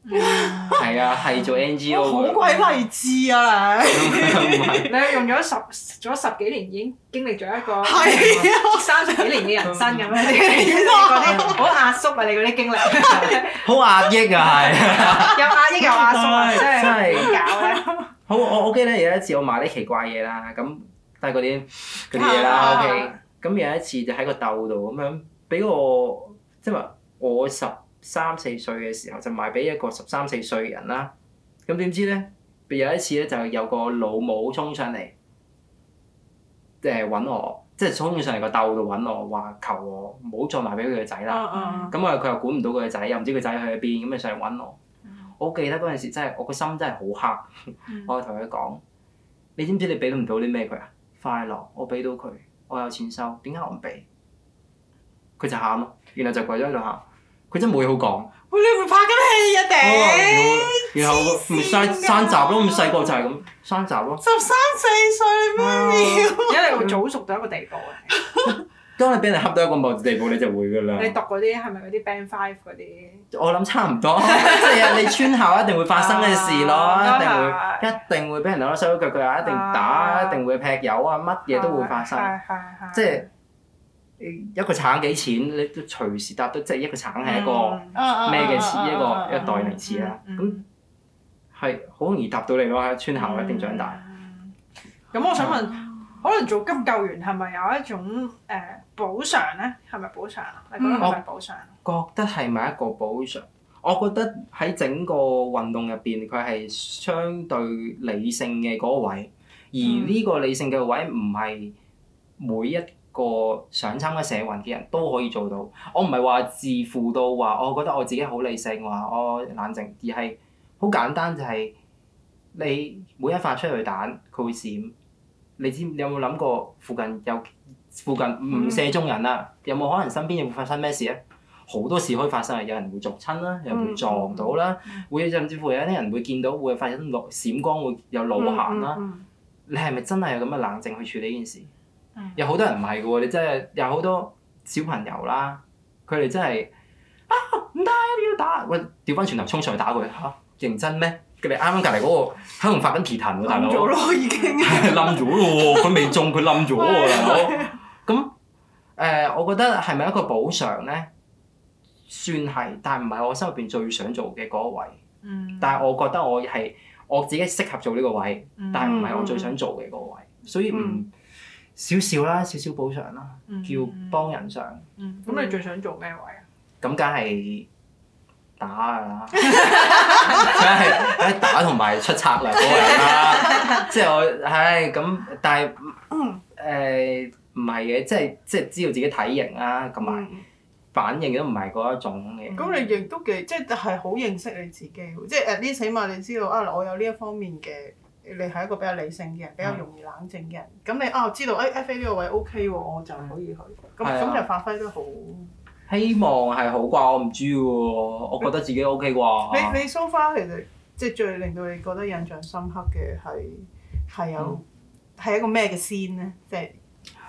係啊，係做 N G O 好㗎。 鬼勵志啊你！ 唔係你係用咗十咗十幾年已經經歷咗一個係啊三十幾年嘅人生咁樣，你嗰啲好壓縮啊！你嗰啲經歷好壓抑啊，係。 又壓抑又壓縮啊，真真係係點搞咧？ 好，我我記得有一次我買啲奇怪嘢啦，咁都係嗰啲嗰啲嘢啦啊 ，OK。咁有一次就喺個竇度咁樣，俾我即係話我十三四歲嘅時候就賣俾一個十三四歲嘅人啦。咁點知咧？有一次咧就有個老母衝上嚟，誒揾我，即係衝上嚟個竇度揾我，話求我唔好再賣俾佢個仔啦。咁啊佢又管唔到佢個仔，又唔知佢仔去咗邊，咁咪上嚟揾我。我記得嗰陣時真係我個心真係好黑，我同佢講：你知唔知你俾唔到啲咩佢啊？快樂，我俾到佢，我有錢收，點解我唔俾？佢就喊咯，然後就跪咗喺度喊，佢真係冇嘢好講。 喂，你會拍緊戲啊頂！ 然後咪山山閘咯，咁細個就係咁山閘咯。 十三四歲咩料？ 而家你會早熟到一個地步啊！ 當你俾人恰到一個某地步，你就會㗎啦。 你讀嗰啲係咪嗰啲 Band Five 嗰啲？ 我諗差唔多，即係你村校一定會發生嘅事咯， 啊一定會一定會俾人攞手腳腳啊，一定打， 啊一定會劈友啊，乜嘢都會發生。 係係係。 即係一個橙幾錢，你都隨時答到，即係一個橙係一個咩嘅詞，一個一個代名詞啦。咁係好容易答到你咯，喺村校一定長大。 咁我想問，可能做急救員係咪有一種誒補償咧？係咪補償啊？你覺得係咪補償？ 覺得係咪一個補償？我覺得喺整個運動入邊，佢係相對理性嘅嗰個位，而呢個理性嘅位唔係每一個想參加社運嘅人都可以做到。我唔係話自負到話，我覺得我自己好理性，話我冷靜，而係好簡單就係你每一發出去彈，佢會閃。你知你有冇諗過附近有附近唔射中人啊？有冇可能身邊會發生咩事咧？好多事可以發生啊！有人會逐親啦，有人會撞到啦，會甚至乎有啲人會見到會發生路閃光，會有路行啦。你係咪真係有咁嘅冷靜去處理呢件事？有好多人唔係嘅喎，你真係有好多小朋友啦，佢哋真係啊唔得，你要打，喂調翻轉頭衝上去打佢嚇，認真咩？佢哋啱啱隔離嗰個喺度發緊皮騰喎，大佬。冧咗咯，已經。 冧咗咯喎！佢未中，佢冧咗喎，大佬。咁誒，我覺得係咪一個補償咧？算係，但係唔係我心入邊最想做嘅嗰個位。嗯。但係我覺得我係我自己適合做呢個位，但係唔係我最想做嘅嗰個位，所以唔少少啦，少少補償啦，叫幫人上。 嗯。咁你最想做咩位啊？ 咁梗係打㗎啦，梗係梗係打同埋出策略嗰個人啦。即係我唉咁，但係誒唔係嘅，即係即係知道自己體型啦，同埋反應都唔係嗰一種嘅。 咁你亦都幾即係係好認識你自己喎，即係 at least 起碼你知道啊，我有呢一方面嘅，你係一個比較理性嘅人，比較容易冷靜嘅人。咁你啊知道誒 F A 呢個位 OK 喎，我就可以去。咁咁就發揮得好。 希望係好啩，我唔知喎，我覺得自己 OK 啩。 你你 so far 其實即係最令到你覺得印象深刻嘅係係有係一個咩嘅 scene 咧？即係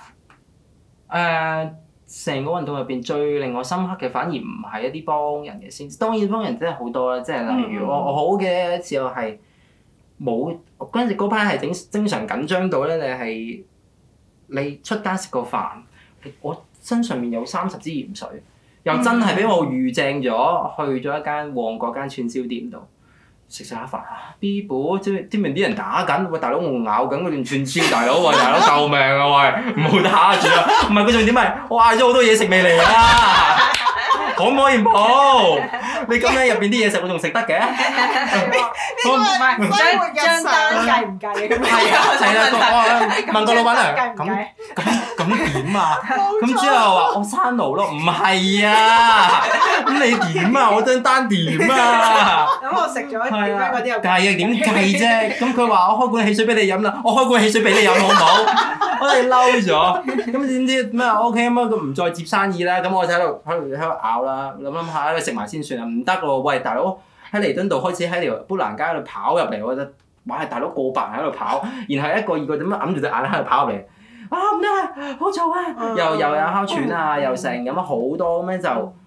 誒，成個運動入邊最令我深刻嘅，反而唔係一啲幫人嘅 scene。當然幫人真係好多啦，即係例如我我好嘅一次我係冇嗰陣時嗰班係整經常緊張到咧，你係你出街食個飯，我身上面有三十支鹽水，又真係俾我預正咗去咗一間旺角間串燒店度食食下飯啊 ！B 部即係啲明啲人打緊，喂大佬我咬緊嗰段串燒，大佬喂大佬救命啊喂，唔好打住啊！唔係佢重點係我嗌咗好多嘢食未嚟啊！可唔可以唔好？你咁樣入邊啲嘢食我仲食得嘅？ 唔係張張單計唔計嘅咁樣？ 係啊係啊，我問個老闆娘計唔咁計？ 咁咁點啊？咁之後話我刪爐咯，唔係啊！咁你點啊？我張單點啊？ 咁我食咗點解嗰啲又計啊？點計啫？咁佢話我開罐汽水俾你飲啦，我開罐汽水俾你飲好唔好？我哋嬲咗，咁點知咩 ？OK 咁啊，佢唔再接生意啦。咁我就喺度喺度喺度咬啦，諗諗下喺度食埋先算啦。唔得喎，喂大佬喺彌敦道開始喺條砵蘭街度跑入嚟，我覺得哇大佬過百人喺度跑，然後一個二個點樣揞住隻眼喺度跑入嚟，啊唔得啊，好嘈啊！又又有哮喘啊，又成咁啊好多咁樣就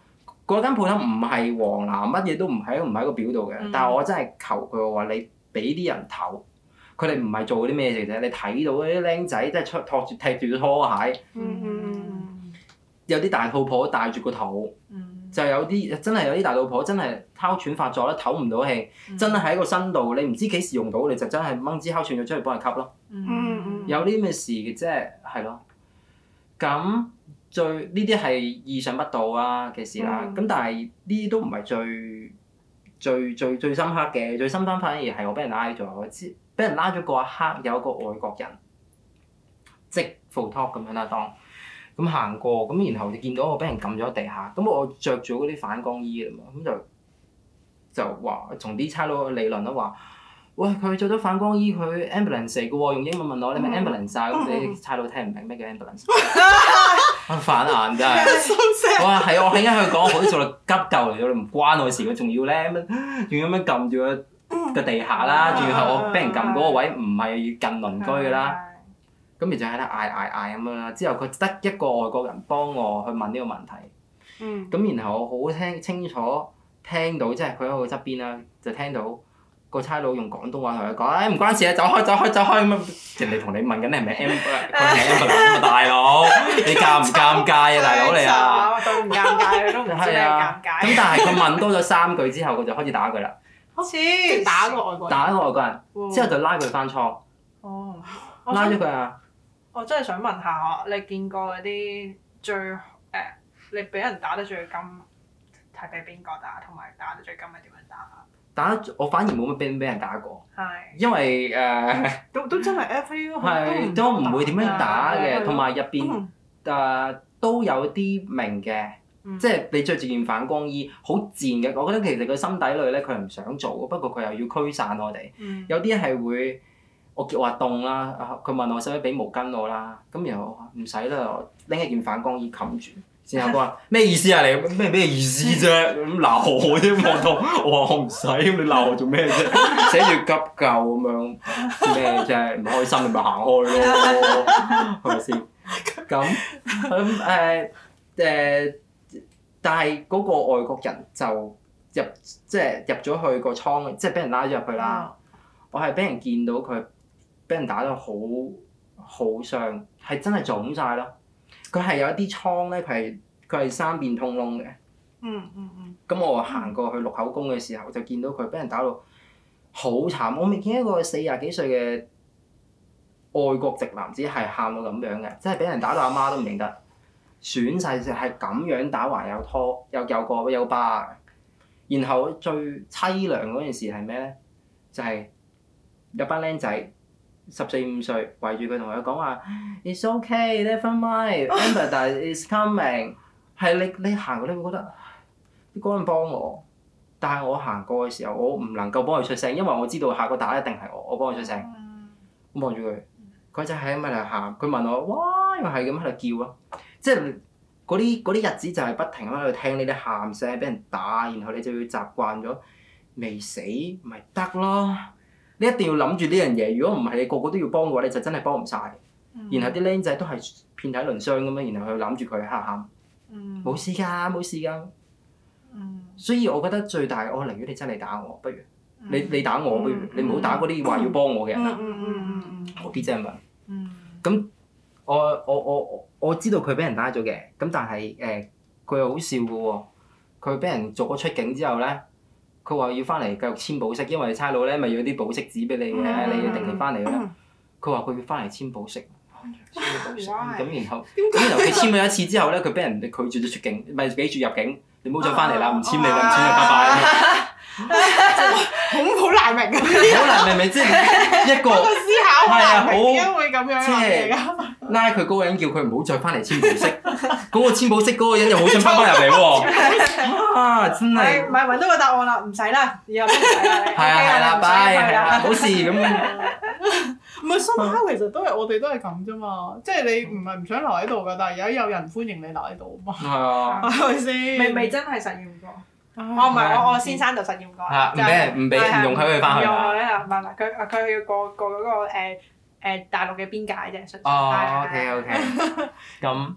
嗰間鋪頭唔係黃藍，乜嘢都唔喺唔喺個表度嘅。 嗯、 但係我真係求佢我話你俾啲人唞，佢哋唔係做啲咩嘅啫。你睇到嗰啲僆仔即係出托住踢住拖鞋， 嗯嗯有啲大肚婆戴住個肚， 嗯、 就有啲真係有啲大肚婆真係哮喘發作啦，唞唔到氣， 嗯、 真係喺個身度，你唔知幾時用到，你就真係掹支哮喘藥出去幫佢吸咯。 嗯嗯有啲咁嘅事嘅，即係係咯。咁最呢啲係意想不到啊嘅事啦。咁、 嗯、 但係呢啲都唔係最最最最深刻嘅，最深刻反而係我俾人拉咗。我知俾人拉咗嗰一刻，有一個外國人即 full talk 咁樣啦，當咁行過，咁然後就見到我俾人撳咗喺地下。咁我着住嗰啲反光衣啊嘛，咁就就話同啲差佬理論啦，話喂佢着咗反光衣，佢 ambulance 嚟嘅喎，用英文問我你咪 ambulance 啊，咁你差佬聽唔明咩叫 ambulance？ 我反眼真係，哇係我係因為佢講好似做到急救嚟咗，你唔關我事，佢仲要咧咁，仲要咁樣撳住個個地下啦，仲要係我俾人撳嗰個位唔係近鄰居㗎啦，咁咪就喺度嗌嗌嗌咁樣啦。之後佢得一個外國人幫我去問呢個問題，咁、嗯、然後我好聽清楚聽到，即係佢喺我側邊啦，就聽到個差佬用廣東話同佢講，誒唔關事啊，走開走開走開咁啊！人哋同你問緊你係咪 M， 佢係 ambulance 啊大佬，你尷唔尷尬啊大佬你啊？ 都唔尷尬，佢都唔知你尷尬。 咁但係佢問多咗三句之後，佢就開始打佢啦。 即係打個外國人。 打個外國人，之後就拉佢翻倉。 哦。 拉咗佢啊！ 我真係想問下，你見過嗰啲最誒、呃，你俾人打得最金係俾邊個打，同埋打得最金係點樣打法？ 打我反而冇乜俾俾人打過， 係因為誒、呃、 都都真係 F A 咯， 係都唔會點樣打嘅，同埋入邊誒都有啲明嘅，嗯、即係你着住件反光衣，好賤嘅。我覺得其實佢心底裏咧，佢係唔想做，不過佢又要驅散我哋。 嗯、有啲係會我叫話凍啦，佢問我使唔使俾毛巾我啦，咁然後我話唔使啦，我拎一件反光衣冚住。然後佢話咩意思啊？你咩咩意思啫？咁鬧我啫，望到我話我唔使，咁你鬧我做咩啫？寫住急救咁樣咩啫？唔開心你咪行開咯，係咪先？咁咁誒誒，但係嗰個外國人就入即係入咗去個倉，即係俾人拉咗入去啦。我係俾人見到佢俾人打得好好傷，係真係腫晒咯。佢係有一啲瘡咧，佢係佢係三邊通窿嘅。 嗯嗯嗯。 咁我行過去錄口供嘅時候，就見到佢俾人打到好慘。我未見一個四廿幾歲嘅外國籍男子係喊到咁樣嘅，即係俾人打到阿媽都唔認得，損晒就係咁樣打還有拖，又有個有疤。然後最凄涼嗰件事係咩咧？就係、是、有班僆仔。十四五歲圍住佢同佢講話 ，It's okay, never mind, Amber is coming。係你你行過你會覺得啲嗰人幫我，但係我行過嘅時候，我唔能夠幫佢出聲，因為我知道下個打一定係我，我幫佢出聲。我望住佢，佢就係咁喺度喊，佢問我，哇，又係咁喺度叫咯，即係嗰啲嗰啲日子就係不停喺度聽呢啲喊聲，俾人打，然後你就要習慣咗，未死咪得咯。你一定要諗住呢樣嘢，如果唔係你個個都要幫嘅話，你就真係幫唔晒。嗯、然後啲僆仔都係遍體鱗傷咁樣，然後佢攬住佢喊喊，冇、嗯、事㗎，冇事㗎。嗯、所以我覺得最大，我寧願你真係打我，不如、嗯、你你打我，不如、嗯、你唔好打嗰啲話要幫我嘅人啦。我啲真係問。咁我我我我我知道佢俾人拉咗嘅，咁但係誒佢又好笑嘅喎，佢俾人逐咗出境之後咧。佢話要翻嚟繼續簽保釋，因為差佬咧咪要啲保釋紙俾你嘅，嗯、你要定期翻嚟啦。佢話佢要翻嚟簽保釋，簽保釋咁然後咁然後佢簽咗一次之後咧，佢俾人哋拒絕咗出境，咪俾住入境，你唔好再翻嚟啦，唔簽你啦，唔簽你拜拜。 好好難明啊！ 好難明明即係一個思考係啊，好點解會咁樣即係拉佢嗰個人叫佢唔好再翻嚟簽保釋，嗰個簽保釋嗰個人又好想翻返入嚟喎。啊！真係唔係揾到個答案啦，唔使啦，以後都唔使啦。 係啊係啦，拜係啊，冇事咁。 唔係，somehow其實都係我哋都係咁啫嘛，即係你唔係唔想留喺度㗎，但係而家有人歡迎你留喺度啊嘛。 係啊。 係咪先？ 未未真係實驗過。我唔係我我先生就實驗過。 係唔俾人唔俾唔容許佢翻去。 唔容許啊！唔係唔係，佢佢要過過嗰個誒誒大陸嘅邊界啫。 哦，OK OK。咁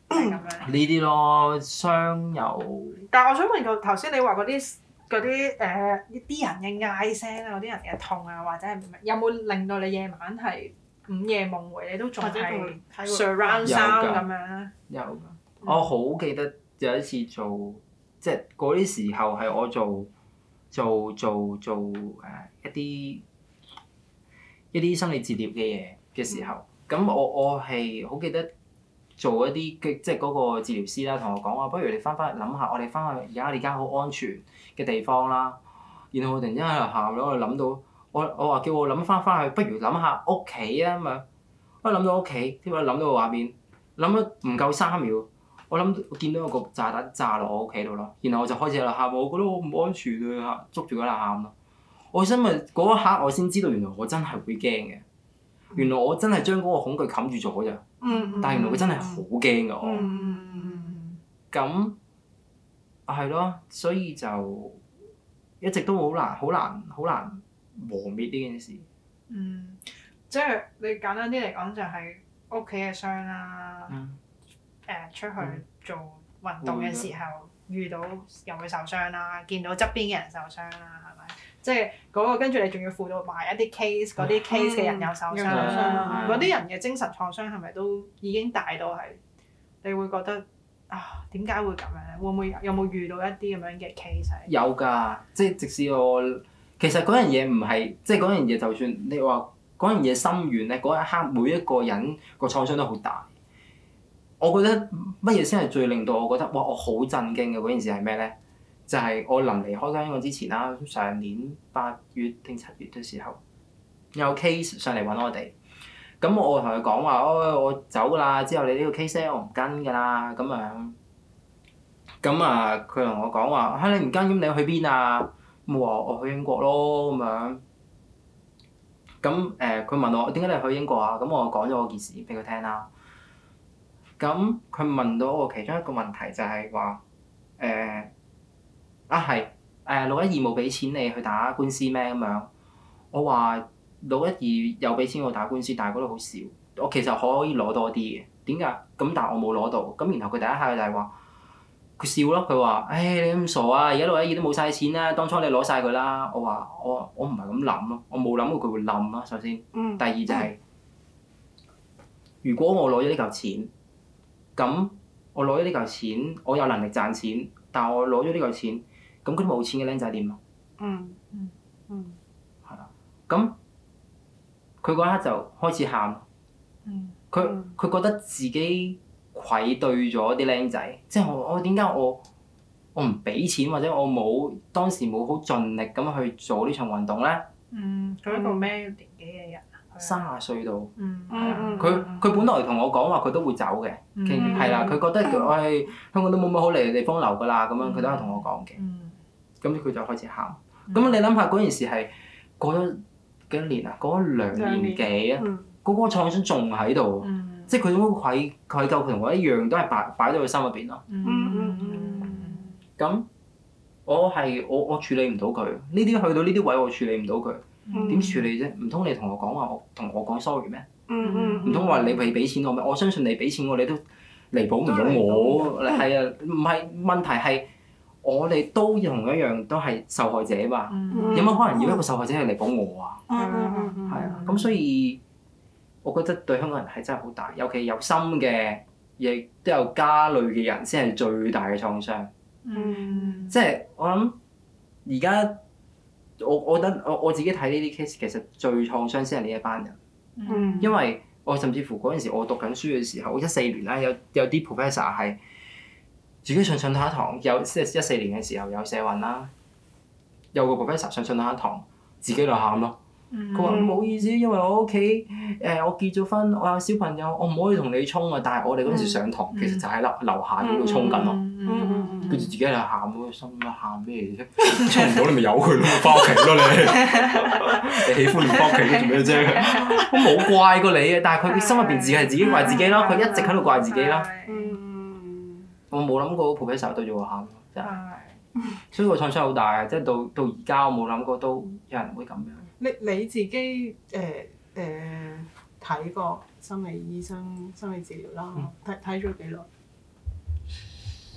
係咁樣。 呢啲咯，傷又但係我想問個頭先你話嗰啲嗰啲誒啲人嘅嗌聲啊，嗰啲人嘅痛啊，或者係有冇令到你夜晚係午夜夢迴，你都仲係 surround sound 咁樣咧？ 有㗎，我好記得有一次做，即係嗰啲時候係我做做做做誒、呃、一啲一啲心理治療嘅嘢嘅時候，咁、嗯、我我係好記得做一啲嘅，即係嗰個治療師啦，同我講話，不如你翻返去諗下，我哋翻去而家你間好安全嘅地方啦。然後我突然之間喺度喊咗，我諗到我我話叫我諗翻翻去，不如諗下屋企啊嘛。我諗到屋企，點解諗到個畫面？諗咗唔夠三秒，我諗我見到有個炸彈炸落我屋企度咯。然後我就開始喺度喊，我覺得我唔安全啊！捉住嗰度喊咯。我心咪嗰一刻我先知道原來我真係會驚嘅。原來我真係將嗰個恐懼冚住咗咋。 嗯、 但係原來佢真係好驚㗎我。 嗯咁係咯，所以就一直都好難、好難、好難磨滅呢件事。 嗯，即係你簡單啲嚟講，就係屋企嘅傷啦。誒、 嗯呃，出去做運動嘅時候、嗯、遇到又會受傷啦，見到側邊嘅人受傷啦，係咪？即係嗰個跟住你仲要輔導埋一啲 case，嗰啲 case 嘅人又受傷啦。嗰啲、嗯、人嘅精神創傷係咪都已經大到係你會覺得啊點解會咁樣咧？會唔會有冇遇到一啲咁樣嘅 case？ 有㗎，即係即使我其實嗰樣嘢唔係，即係嗰樣嘢就算你話嗰樣嘢深遠咧，嗰一刻每一個人個創傷都好大。我覺得乜嘢先係最令到我覺得哇我好震驚嘅嗰件事係咩咧？就係、是、我臨離開香港之前啦，上年八月定七月嘅時候有 case 上嚟揾我哋，咁我同佢講話，哦我走㗎啦，之後你呢個 case 咧我唔跟㗎啦，咁樣，咁啊佢同我講話，嚇你唔跟咁你去邊啊？咁我話我去英國咯咁樣，咁誒佢問我點解你去英國啊？咁我講咗我件事俾佢聽啦。咁佢問到我其中一個問題就係話誒啊係誒六一二冇俾錢你去打官司咩咁樣？我話六一二有俾錢我打官司，但係嗰度好少。我其實可以攞多啲嘅，點解？咁但係我冇攞到。咁然後佢第一下就係話佢笑咯，佢話：唉你咁傻啊！而家六一二都冇晒錢啦，當初你攞晒佢啦。我話我我唔係咁諗咯，我冇諗過佢會冧咯。首先，第二就係、是、如果我攞咗呢嚿錢。咁我攞咗呢嚿錢，我有能力賺錢，但係我攞咗呢嚿錢，咁嗰啲冇錢嘅僆仔點啊？ 嗯嗯嗯， 係啦，咁佢嗰一刻就開始喊。嗯。佢佢覺得自己愧對咗啲僆仔，即係我我點解我我唔俾錢或者我冇當時冇好盡力咁去做呢場運動咧？ 嗯，佢一個咩年紀嘅人？ 三十歲到， 嗯， 佢佢本來同我講話佢都會走嘅，係啦、嗯，佢覺得佢唉、哎、香港都冇乜好嚟嘅地方留㗎啦，咁樣佢都係同我講嘅。咁佢、嗯、就開始喊。咁、嗯、你諗下嗰件事係過咗幾多年啊？過咗兩年幾啊？嗰、嗯、個創傷仲喺度，嗯、即係佢種愧愧疚同我一樣，都係擺擺咗佢心入邊咯。咁我係我我處理唔到佢，呢啲去到呢啲位我處理唔到佢。點處理啫？唔通你同我講話，我同我講 sorry 咩？唔通話你未俾錢我咩？我相信你俾錢我，你都彌補唔到我。係啊，唔係問題係我哋都同一樣都係受害者嘛。嗯、有乜可能要一個受害者去彌補我啊？係啊，咁所以我覺得對香港人係真係好大，尤其有心嘅，亦都有家累嘅人先係最大嘅創傷。嗯、即係我諗而家。我我覺得我我自己睇呢啲 case，其實最創傷先係呢一班人，嗯、因為我甚至乎嗰陣時我讀緊書嘅時候，一四年啦，有有啲 professor 係自己上上下一堂，有即係一四年嘅時候有社運啦，有個 professor 上上下一堂自己就喊咯。佢話唔好意思，因為我屋企誒我結咗婚，我有小朋友，我唔可以同你衝啊！但係我哋嗰陣時上堂，其實就喺樓樓下嗰度衝緊咯。跟住自己喺度喊咯，心諗喊咩啫？衝唔到你咪由佢咯，翻屋企咯你。你喜歡唔翻屋企做咩啫？我冇怪過你嘅，但係佢心入邊自己係自己怪自己咯，佢一直喺度怪自己咯。我冇諗過 professor 對住我喊咯，真係。所以個創傷好大啊！即係到到而家，我冇諗過都有人會咁樣。 你你自己誒誒睇過心理醫生、心理治療啦，睇睇咗幾耐？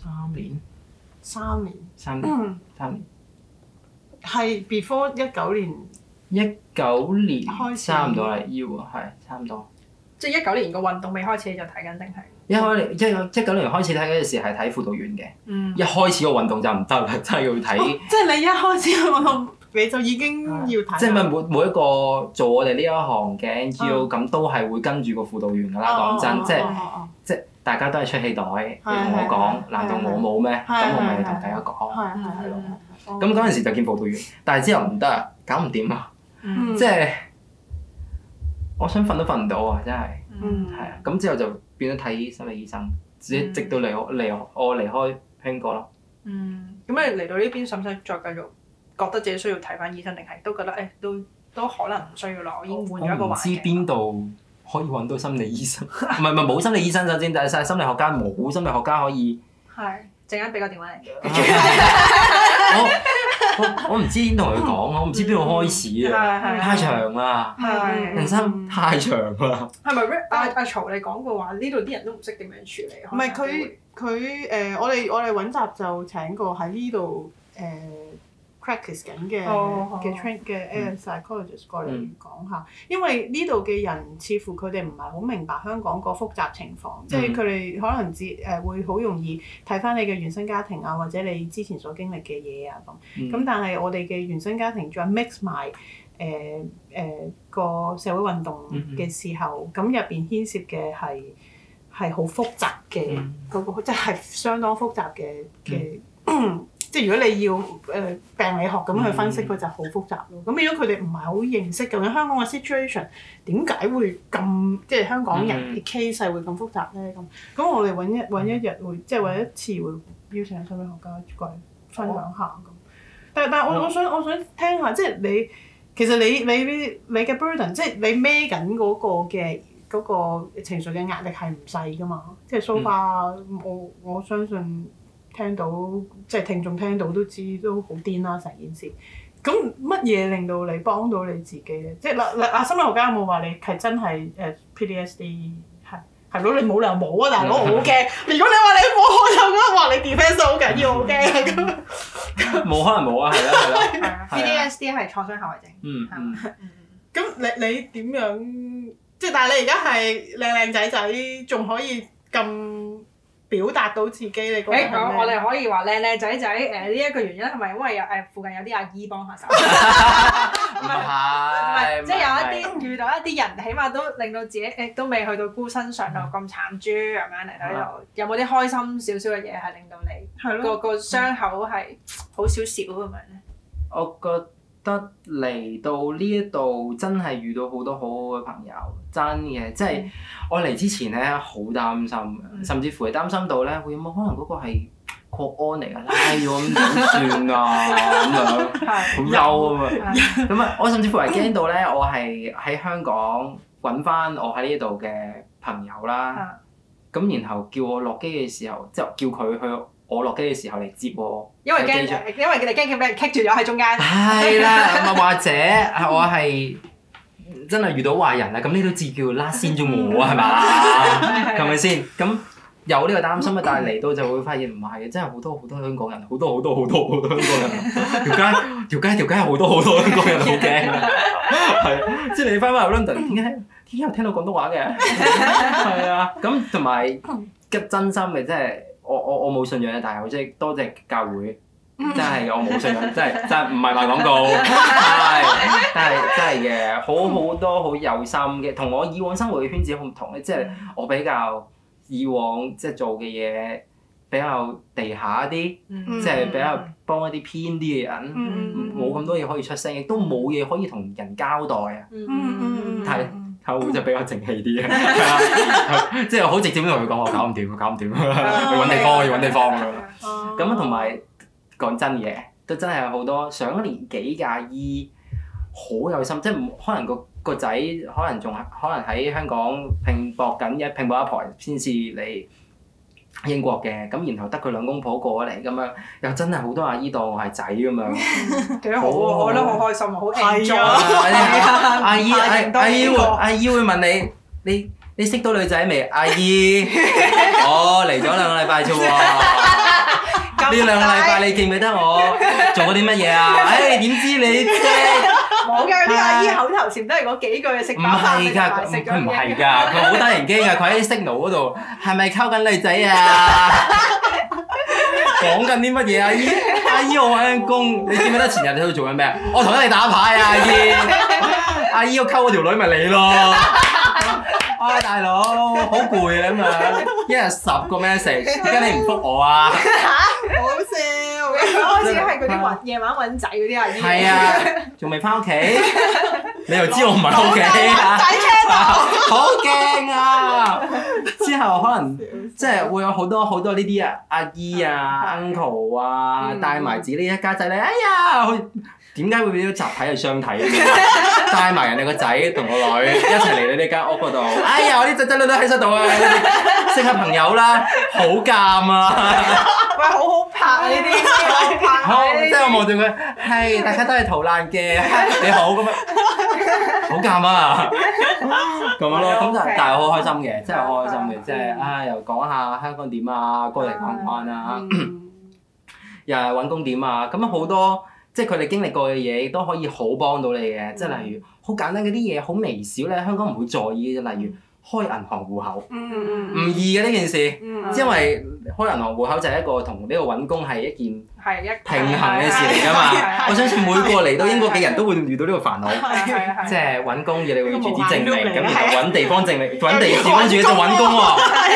三年， 三年， 三年， 嗯， 三年， 係 before 一九年一九年開始差唔多啦，要喎，係差唔多。 即係一九年個運動未開始你就睇緊定係？ 一開一一九年開始睇嗰陣時係睇輔導員嘅， 嗯一開始個運動就唔得啦，真係要睇。 哦即係你一開始個運動你就已經要睇。 即係咪每每一個做我哋呢一行嘅 N G O 嗯咁都係會跟住個輔導員㗎啦， 哦講真，即係哦哦哦即係大家都係出氣袋，你同係我講， 係難道我冇咩？ 係咁我咪係同大家講。 係係係嗯係。 咁嗰陣時就見輔導員，但係之後唔得啊，搞唔掂啊， 嗯即係我想瞓都瞓唔到啊，真係。 嗯係啊，咁之後就變咗睇心理醫生，直嗯直到離開離我離開香港咯。 嗯，咁你嚟到呢邊使唔使再繼續覺得自己需要睇翻醫生，定係都覺得誒都都可能唔需要啦？我已經換咗一個我唔知環境。 邊度可以揾到心理醫生，唔係唔係冇心理醫生首先，但係晒心理學家冇心理學家可以。 係，陣間俾個電話你。 我我我唔知點同佢講，我唔知邊度開始啊， 係係太長啦， 係人生太長啦。 係咪阿阿曹你講過話呢度啲人都唔識點樣處理？ 唔係佢佢誒，我哋我哋揾集就請過喺呢度誒 practice 緊嘅哦嘅 train 嘅 air psychologist 過嚟嗯講下，因為呢度嘅人似乎佢哋唔係好明白香港個複雜情況，即係佢哋可能只誒會好容易睇翻你嘅原生家庭啊，或者你之前所經歷嘅嘢啊咁。咁、 嗯但係我哋嘅原生家庭再 mix 埋誒誒個社會運動嘅時候，咁入邊牽涉嘅係係好複雜嘅嗯嗰、個，即係相當複雜嘅嘅。即係如果你要誒、呃、病理學咁去分析，佢、 嗯就好複雜咯。咁變咗佢哋唔係好認識究竟香港嘅 situation 點解會咁，即係香港人嘅 case 係會咁複雜咧？咁咁我哋揾一揾一日會，即係揾一次會邀請心理學家過嚟分享下咁。但但係我我想我想聽下，即係你其實你你你嘅 burden，即係你孭緊嗰個嘅嗰、個情緒嘅壓力係唔細噶嘛？即係 so far，我我相信。聽到即係聽眾聽到都知都好癲啦成件事。咁乜嘢令到你幫到你自己咧？即係嗱嗱啊心理學家有冇話你係真係誒 P T S D 係係咯？你冇理由冇啊大佬，我好驚。如果你話你冇，我就覺得話你 defence 好緊要，好驚咁。 冇可能冇啊，係啦係啦。 係啊，P T S D 係創傷後遺症。 嗯嗯。 咁你你點樣？即係但係你而家係靚靚仔仔，仲可以咁表達到自己，你覺得係咩？ 誒，我我哋可以話靚靚仔仔誒呢一個原因係咪因為有誒附近有啲阿姨幫下手？ 唔唔係係，即係有一啲遇到一啲人，起碼都令到自己誒都未去到孤身上路咁慘豬咁樣嚟到呢度。有冇啲開心少少嘅嘢係令到你係咯個個傷口係好少少咁樣咧？ 我覺得嚟到呢一度真係遇到好多好好嘅朋友，真嘅，即係我嚟之前咧好擔心嘅， 嗯甚至乎係擔心到咧會有冇可能嗰個係國安嚟㗎，拉咗咁點算啊咁樣，好憂啊嘛。咁啊，我甚至乎係驚到咧，我係喺香港揾翻我喺呢度嘅朋友啦，咁然後叫我落機嘅時候，即係叫佢去我落機嘅時候嚟接我。 因為驚，因為佢哋驚佢俾人棘住咗喺中間。 係啦，咁或者我係真係遇到壞人啦，咁呢都至叫拉先咗我係嘛？係咪先？咁有呢個擔心啊，但係嚟到就會發現唔係嘅，真係好多好多香港人，好多好多好多好多香港人，條街條街條街好多好多香港人，好驚啊！係，即係你翻返去 London，點解點解有聽到廣東話嘅？係啊，咁同埋嘅真心嘅，即係。我我我冇信仰嘅，但係我即係多謝教會，真係嘅，我冇信仰，真係真係唔係賣廣告，係，但係真係嘅，好好多好有心嘅，同我以往生活嘅圈子好唔同咧，即係我比較以往即係做嘅嘢比較地下一啲，即係比較幫一啲偏啲嘅人，冇咁多嘢可以出聲，亦都冇嘢可以同人交代啊，但係。後會就比較靜氣啲嘅，即係好直接咁同佢講，我搞唔掂，我搞唔掂，要揾地方，要揾地方咁樣。咁同埋講真嘢，都真係好多上咗年紀嘅阿姨，好有心，即係可能個個仔可能仲可能喺香港拼搏緊一拼搏一排先至嚟英國嘅，咁然後得佢兩公婆過咗嚟咁樣，又真係好多阿姨當我係仔咁樣， 幾好啊！我覺得好開心啊，好 enjoy 啊！阿姨阿阿姨會阿姨會問你，你你識到女仔未？阿姨，我嚟咗兩個禮拜啫喎。 呢兩個禮拜你記唔記得我做過啲乜嘢啊？誒點知你啫？ 冇㗎，啲阿姨口頭禪都係嗰幾句嘅食唔飽飯係㗎， 食佢唔係㗎，佢好得人驚㗎，佢喺 signal 嗰度係咪溝緊女仔啊？講緊啲乜嘢阿姨？阿姨我揾緊工，你記唔記得前日你喺度做緊咩啊？我同緊你打牌啊阿姨！阿姨我溝嗰條女咪你咯！啊大佬，好攰啊咁樣，一日十個 message，點解你唔覆我啊？ 好笑， 佢開始係嗰啲揾夜晚揾仔嗰啲阿姨。 係啊，仲未翻屋企？你又知我唔係屋企啊？ 仔車好驚啊！之後可能即係會有好多好多呢啲啊阿姨啊 uncle 啊，帶埋自己呢一家仔咧，哎呀，好點解會變咗集體係相睇？帶埋人哋個仔同個女一齊嚟到呢間屋嗰度，哎呀，我啲仔仔女女喺晒度啊，識下朋友啦，好尷啊！ 喂，好好拍啊呢啲，好拍好，即係我望住佢，係大家都係逃難嘅，你好咁樣，好尷啊！咁樣咯，咁就但係好開心嘅，真係好開心嘅，即係啊又講下香港點啊，過嚟講翻啊，又係揾工點啊，咁好多。即係佢哋經歷過嘅嘢，亦都可以好幫到你嘅。即係例如好簡單嗰啲嘢，好微小咧，香港唔會在意嘅。例如開銀行戶口，唔易嘅呢件事，因為開銀行戶口就係一個同呢個揾工係一件平衡嘅事嚟㗎嘛。我相信每個嚟到英國嘅人都會遇到呢個煩惱，即係揾工要你會住址證明，咁然後揾地方證明，揾地地方住嘅就揾工喎。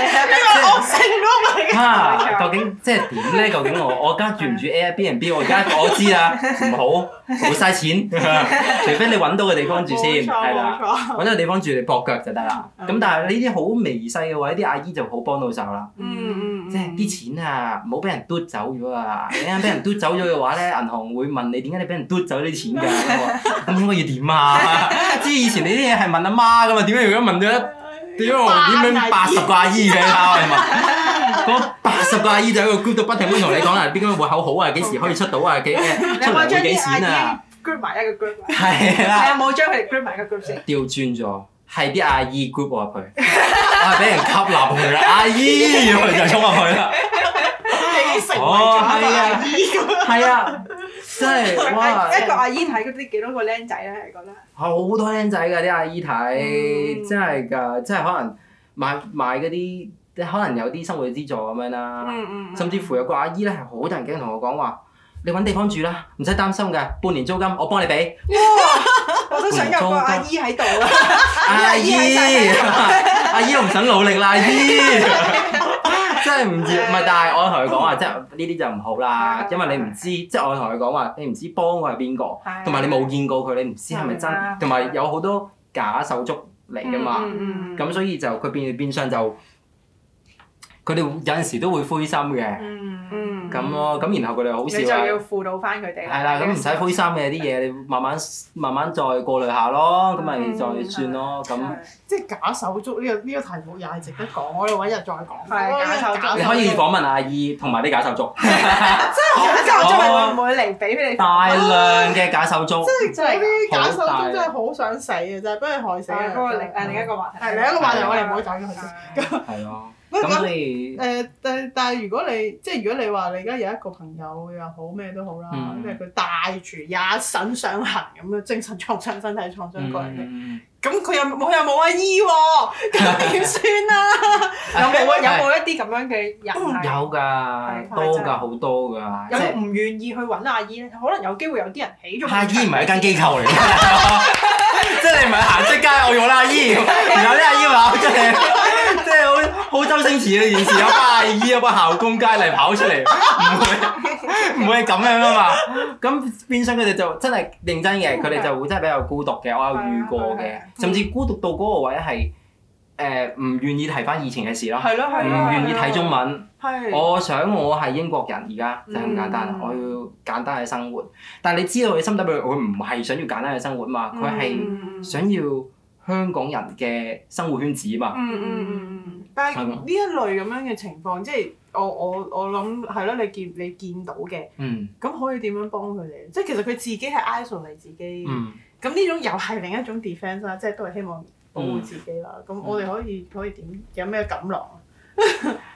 嚇！究竟即係點咧？究竟我我而家住唔住 Airbnb？我而家我知啦，唔好會嘥錢，除非你揾到個地方住先，係啦，揾到個地方住你駁腳就得啦。咁但係呢啲好微細嘅位，啲阿姨就好幫到手啦。即係啲錢啊，唔好俾人嘟走咗啊！你啱俾人嘟走咗嘅話咧，銀行會問你點解你俾人嘟走啲錢㗎？咁應該要點啊？知以前你啲嘢係問阿媽㗎嘛？點解而家問咗一點樣點樣八十個阿姨嘅啦？係嘛？嗰八十個阿姨就喺個 group 度不停咁同你講啦，邊個戶口好啊？幾時可以出到啊？幾誒出嚟會幾錢啊 ？group 埋一個 group。 係啦。 係啊，冇將佢哋 group 埋一個 group 先。 調轉咗，係啲阿姨 group 我入去，我係俾人吸納佢啦，阿姨佢就衝入去啦。 你成為咗阿姨咁。 係啊，真係哇！ 一個阿姨睇嗰啲幾多個僆仔咧？係覺得。 好多僆仔㗎啲阿姨睇，真係㗎，即係可能買買嗰啲。可能有啲生活資助咁樣啦，嗯嗯嗯、甚至乎有個阿姨咧係好得人驚，同我講話：你揾地方住啦，唔使擔心㗎，半年租金我幫你俾。 哇！我都想有個阿姨喺度啊！ 阿姨，阿姨我唔想努力啦，阿姨。真係唔知，唔係，但係我同佢講話，即係呢啲就唔好啦，因為你唔知，即係我同佢講話，你唔知幫我係邊個，同埋你冇見過佢，你唔知係咪真，同埋有好多假手足嚟㗎嘛，咁、嗯嗯、所以就佢變變相就。佢哋有陣時都會灰心嘅，咁咯，咁然後佢哋好笑啊！ 你就要輔導翻佢哋啦。 係啦，咁唔使灰心嘅啲嘢，你慢慢慢慢再過濾下咯，咁咪再算咯，咁。 即係假手足呢個呢個題目又係值得講，我哋揾日再講。 係假手足。 你可以訪問阿姨同埋啲假手足。 真係假手足會唔會嚟俾你？ 大量嘅假手足。 即係嗰啲假手足真係好想死嘅，就係俾佢害死啊！ 嗰個另誒另一個話題。 係另一個話題，我哋唔好走咗佢先。 係咯。 咁所以誒，但但係如果你即係如果你話你而家有一個朋友又好咩都好啦，即係佢帶住一身傷痕咁樣精神創傷、身體創傷過嚟嘅，咁佢又冇又冇阿姨喎，咁點算啊？ 有冇有冇一啲咁樣嘅人？ 有㗎，多㗎，好多㗎。 有冇唔願意去揾阿姨咧？可能有機會有啲人起咗。 阿姨唔係一間機構嚟嘅，即係你唔係行出街我要阿姨，然後啲阿姨話出嚟。即係好好周星馳嘅件事，有班阿姨有班校工街嚟跑出嚟，唔會唔會係咁樣啊嘛？咁變相佢哋就真係認真嘅，佢哋就會真係比較孤獨嘅。我有遇過嘅，甚至孤獨到嗰個位係誒唔願意提翻以前嘅事咯，唔願意睇中文。我想我係英國人，而家就係咁簡單，我要簡單嘅生活。但係你知道佢心底裏佢唔係想要簡單嘅生活嘛？佢係想要香港人嘅生活圈子嘛。 嗯嗯嗯嗯。但係呢一類咁樣嘅情況，即係我我我諗係咯，你見你見到嘅，咁可以點樣幫佢哋？即係其實佢自己係 isolate 自己，咁呢種又係另一種 defence 啦，即係都係希望保護自己啦。咁我哋可以可以點？有咩錦囊啊？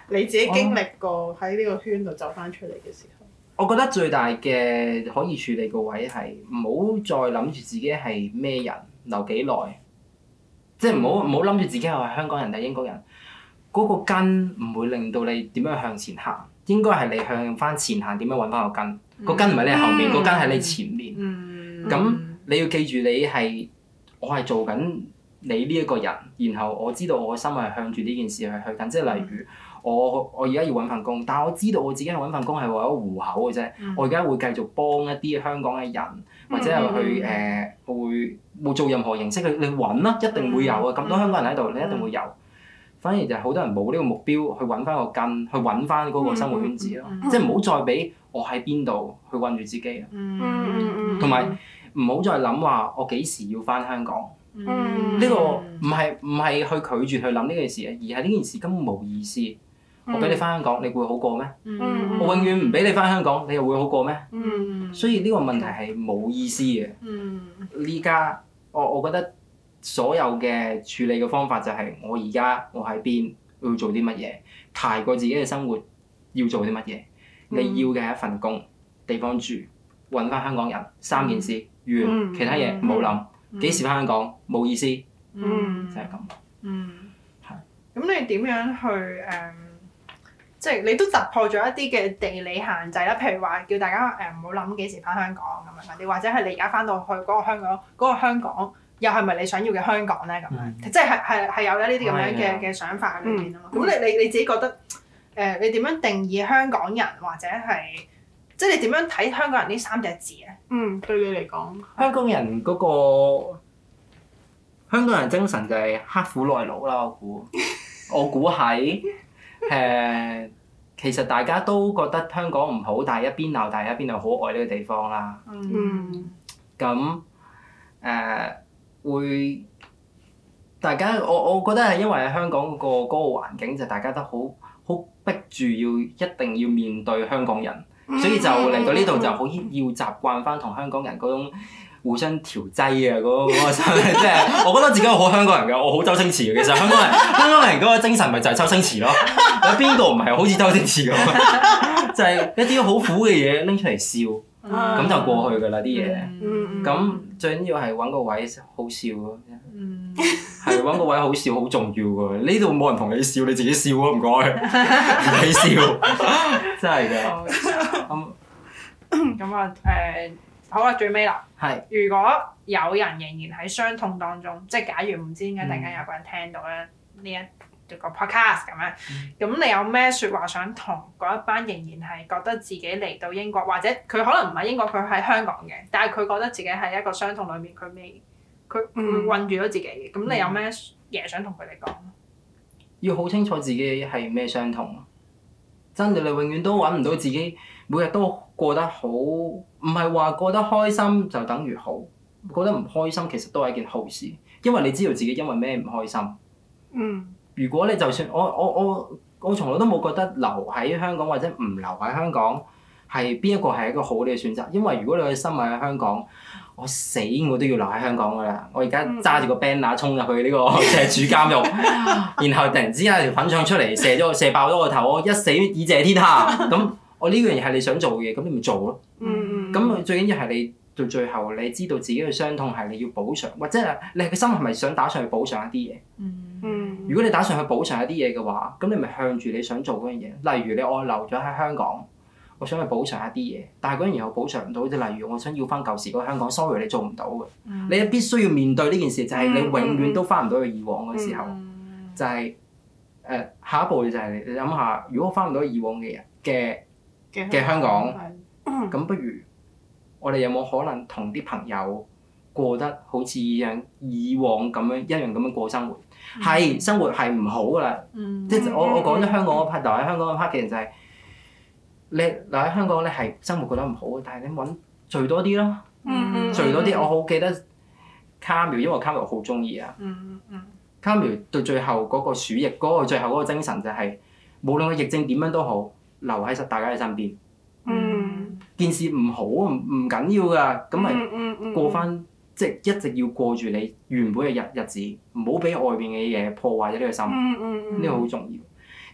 你自己經歷過喺呢個圈度走翻出嚟嘅時候？ 我覺得最大嘅可以處理個位係唔好再諗住自己係咩人，留幾耐，即係唔好唔好諗住自己係香港人定英國人。嗰、個根唔會令到你點樣向前行，應該係你向翻前行點樣揾翻個根。個、嗯、根唔係你後面，個、嗯、根喺你前面。咁、嗯、你要記住你係我係做緊你呢一個人，然後我知道我個心係向住呢件事去去緊。即係例如我我而家要揾份工，但係我知道我自己係揾份工係為咗糊口嘅啫。嗯、我而家會繼續幫一啲香港嘅人，或者係去誒、呃、會會做任何形式去你揾啦，一定會有啊！咁多香港人喺度，你一定會有。反而就係好多人冇呢個目標去揾翻個根，去揾翻嗰個生活圈子咯。嗯嗯、即係唔好再俾我喺邊度去韞住自己啊。同埋唔好再諗話我幾時要翻香港。呢、嗯、個唔係唔係去拒絕去諗呢件事啊，而係呢件事根本冇意思。嗯、我俾你翻香港，你會好過咩？嗯、我永遠唔俾你翻香港，你又會好過咩？嗯、所以呢個問題係冇意思嘅。呢家、嗯、我我覺得。所有嘅處理嘅方法就係我而家我喺邊要做啲乜嘢，排過自己嘅生活要做啲乜嘢。嗯、你要嘅係一份工、地方住、揾翻香港人，三件事完，嗯、其他嘢唔好諗。幾、嗯、時翻香港冇意思，嗯、就係咁。 嗯，係。咁你點樣去誒？即、um, 係你都突破咗一啲嘅地理限制啦，譬如話叫大家誒唔好諗幾時翻香港咁樣嗰啲，或者係你而家翻到去嗰個香港嗰、嗰個香港。又係咪你想要嘅香港咧？咁樣、嗯，即係係係有呢啲咁樣嘅嘅想法喺裏邊啊嘛。咁、嗯、你你你自己覺得誒、呃，你點樣定義香港人或者係即係你點樣睇香港人呢三隻字啊？ 嗯，對你嚟講， 香港人嗰、嗰個香港人精神就係刻苦耐勞啦。我估我估喺誒，其實大家都覺得香港唔好，但係一邊鬧，但係一邊又好愛呢個地方啦。嗯。咁誒。呃會，大家我我覺得係因為喺香港嗰個嗰個環境就大家都好好逼住要一定要面對香港人，所以就嚟到呢度就好要習慣翻同香港人嗰種互相調劑啊嗰嗰個心，即係我覺得自己好香港人㗎，我好周星馳嘅。其實香港人香港人嗰個精神咪就係周星馳咯，有邊個唔係好似周星馳咁？就係一啲好苦嘅嘢拎出嚟笑。咁、嗯、就過去㗎啦啲嘢，咁、嗯、最緊要係揾個位好笑咯，係揾、嗯、個位好笑好重要㗎。呢度冇人同你笑，你自己笑啊唔該，你笑，真係㗎。 咁啊誒，好啦，最尾啦。係是。如果有人仍然喺傷痛當中，即係假如唔知點解突然間有個人聽到咧呢一個 podcast 咁樣，咁、嗯、你有咩説話想同嗰一班仍然係覺得自己嚟到英國，或者佢可能唔係英國，佢喺香港嘅，但係佢覺得自己喺一個傷痛裏面，佢未佢會困住咗自己嘅，咁、嗯、你有咩嘢想同佢哋講？ 要好清楚自己係咩傷痛，真嘅你永遠都揾唔到自己，每日都過得好，唔係話過得開心就等於好，過得唔開心其實都係一件好事，因為你知道自己因為咩唔開心。嗯。如果你就算我我我我從來都冇覺得留喺香港或者唔留喺香港係邊一個係一個好啲嘅選擇，因為如果你嘅心係喺香港，我死我都要留喺香港㗎啦！我而家揸住個 banner 衝入去呢個赤柱監獄，然後突然之間條粉腸出嚟射咗射爆咗個頭，我一死以謝天下。咁我呢樣嘢係你想做嘅嘢，咁你咪做咯。咁、嗯、最緊要係你到最後你知道自己嘅傷痛係你要補償，或者係你個心係咪想打上去補償一啲嘢？嗯、如果你打上去補償一啲嘢嘅話，咁你咪向住你想做嗰樣嘢。例如你我留咗喺香港，我想去補償一啲嘢，但係嗰樣嘢我補償唔到。即係例如我想要翻舊時嗰個香港 ，sorry 你做唔到嘅。嗯、你必須要面對呢件事，就係、是、你永遠都翻唔到去以往嘅時候，嗯、就係、是、誒、呃、下一步就係你諗下，如果我翻唔到以往嘅人嘅嘅香港，咁、嗯、不如我哋有冇可能同啲朋友過得好似一樣以往咁樣一樣咁樣過生活？係、嗯、生活係唔好噶啦，嗯、即係我我講咗香港嗰 part，留喺香港嗰 part 嘅人就係、是、你留喺香港咧係生活過得唔好，但係你揾聚多啲咯，嗯、聚多啲。我好記得卡繆，因為卡繆好中意啊。嗯嗯、卡繆到最後嗰個鼠疫嗰、嗰個最後嗰個精神就係、是、無論個疫症點樣都好，留喺大家嘅身邊。嗯、件事唔好唔唔緊要㗎，咁咪過翻。嗯嗯即係一直要過住你原本嘅日日子，唔好俾外邊嘅嘢破壞咗呢個心，呢個好重要。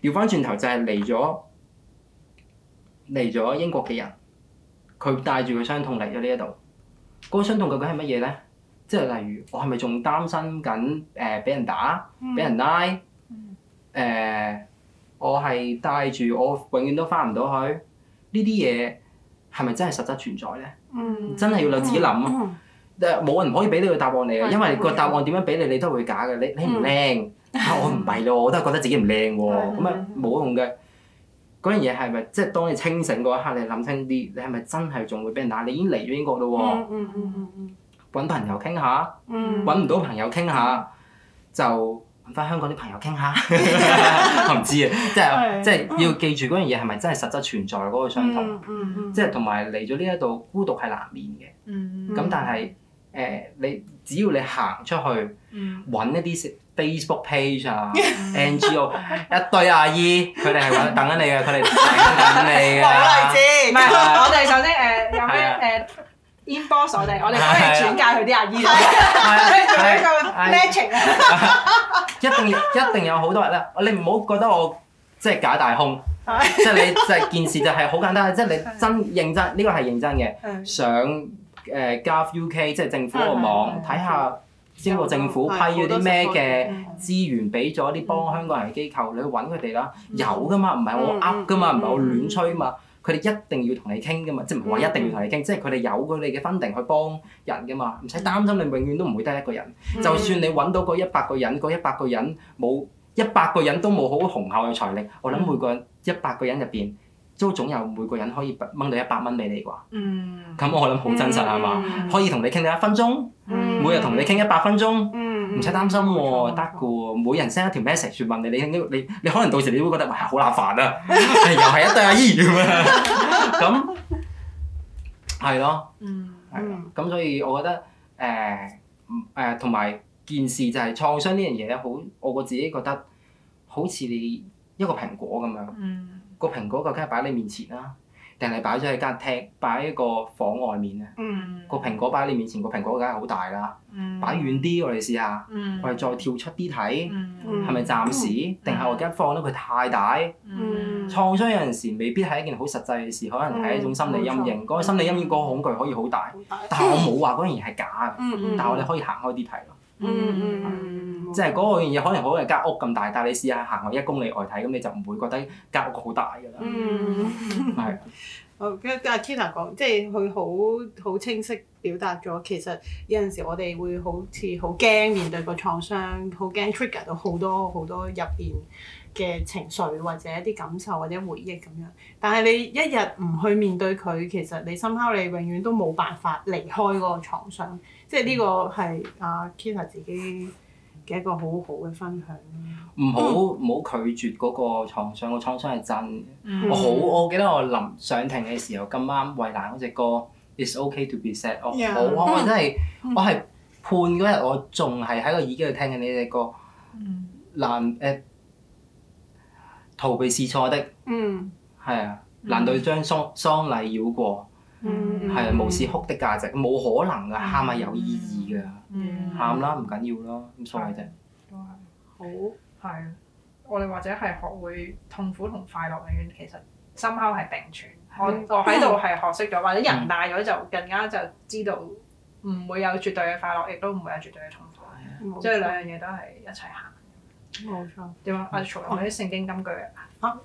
調翻轉頭就係嚟咗嚟咗英國嘅人，佢帶住個傷痛嚟咗呢一度。嗰個傷痛究竟係乜嘢咧？即係例如我係咪仲擔心緊誒俾人打、俾人拉？誒、呃，我係帶住我永遠都翻唔到去呢啲嘢，係咪真係實質存在咧？ 嗯、 真係要你自己諗啊！誒，冇人可以俾呢個答案你嘅，因為個答案點樣俾你，你都會假嘅。你你唔靚，啊我唔係咯，我都係覺得自己唔靚喎，咁啊冇用嘅。嗰樣嘢係咪即係當你清醒嗰一刻，你諗清啲，你係咪真係仲會俾人打？你已經嚟咗英國咯喎， 嗯嗯嗯嗯嗯揾朋友傾下， 嗯揾唔到朋友傾下，就揾翻香港啲朋友傾下。我唔知啊，即係即係要記住嗰樣嘢係咪真係實質存在嗰個傷痛， 嗯嗯嗯即係同埋嚟咗呢一度孤獨係難免嘅。 嗯咁但係誒，你只要你行出去揾一啲 Facebook page 啊、N G O 一堆阿姨，佢哋係揾等緊你嘅，佢哋等緊你嘅。 冇例子， 唔係，我哋首先誒有咩誒 inbox 我哋，我哋幫你轉介去啲阿姨度，做一個 matching 啊！ 一定一定有好多人咧，你唔好覺得我即係假大空，即係你就係件事就係好簡單，即係你真認真，呢個係認真嘅。上誒 Gov U K 即係政府個網睇下。英國政府批咗啲咩嘅資源俾咗啲幫香港人嘅機構，你去揾佢哋啦。有噶嘛，唔係我噏噶嘛，唔係我亂吹嘛。佢哋一定要同你傾噶嘛，即係唔係話一定要同你傾，即係佢哋有佢哋嘅funding去幫人噶嘛，唔使擔心你永遠都唔會得一個人。就算你揾到嗰一百個人，嗰一百個人冇一百個人都冇好雄厚嘅財力，我諗每個人一百個人入邊都總有每個人可以掹到一百蚊俾你啩。 嗯。 咁我諗好真實係嘛？可以同你傾到一分鐘。每日同你傾一百分鐘，唔使擔心喎，得嘅喎。每人 send 一條 message 問你，你你你可能到時你會覺得哇好乸煩啊，又係一對阿姨咁樣，咁係咯，係咯。咁所以我覺得誒誒同埋件事就係創傷呢樣嘢咧，好我我自己覺得好似你一個蘋果咁樣，個蘋果究竟係擺喺你面前啦，定係擺咗喺間廳，擺喺個房外面咧？個蘋果擺喺你面前，個蘋果梗係好大啦。擺遠啲，我哋試下，我哋再跳出啲睇，係咪暫時？定係我而家放得佢太大？創傷有陣時未必係一件好實際嘅事，可能係一種心理陰影。嗰個心理陰影嗰個恐懼可以好大，但係我冇話嗰樣嘢係假嘅。但係我哋可以行開啲睇咯。即係嗰個樣嘢可能好似間屋咁大，但係你試下行去一公里外睇，咁你就唔會覺得間屋好大㗎啦。係。 好，跟阿 Kita 講，即係佢好好清晰表達咗，其實有陣時我哋會好似好驚面對個創傷，好驚 trigger 到好多好多入邊嘅情緒或者一啲感受或者回憶咁樣。但係你一日唔去面對佢，其實你深刻你永遠都冇辦法離開嗰個創傷。即係呢個係阿 Kita 自己嘅一個好好嘅分享。 唔好唔好拒絕嗰個創傷，個創傷係真嘅。嗯、我好，我記得我臨上庭嘅時候咁啱衞蘭嗰隻歌《It's OK to be sad》，我好 Yeah. 我我真係我係判嗰日我仲係喺個耳機度聽緊呢隻歌。難誒、呃、逃避是錯的，係、嗯、啊，難道將喪喪禮繞過？係、嗯、啊，無視哭的價值，冇可能㗎，喊係有意義㗎，喊啦唔緊要咯，咁所謂啫。 都係好。係，我哋或者係學會痛苦同快樂永遠其實深刻係並存。我我喺度係學識咗，或者人大咗就更加就知道唔會有絕對嘅快樂，亦都唔會有絕對嘅痛苦。即係兩樣嘢都係一齊行。 冇錯。 點啊？阿曹有冇啲聖經金句啊？ 嚇！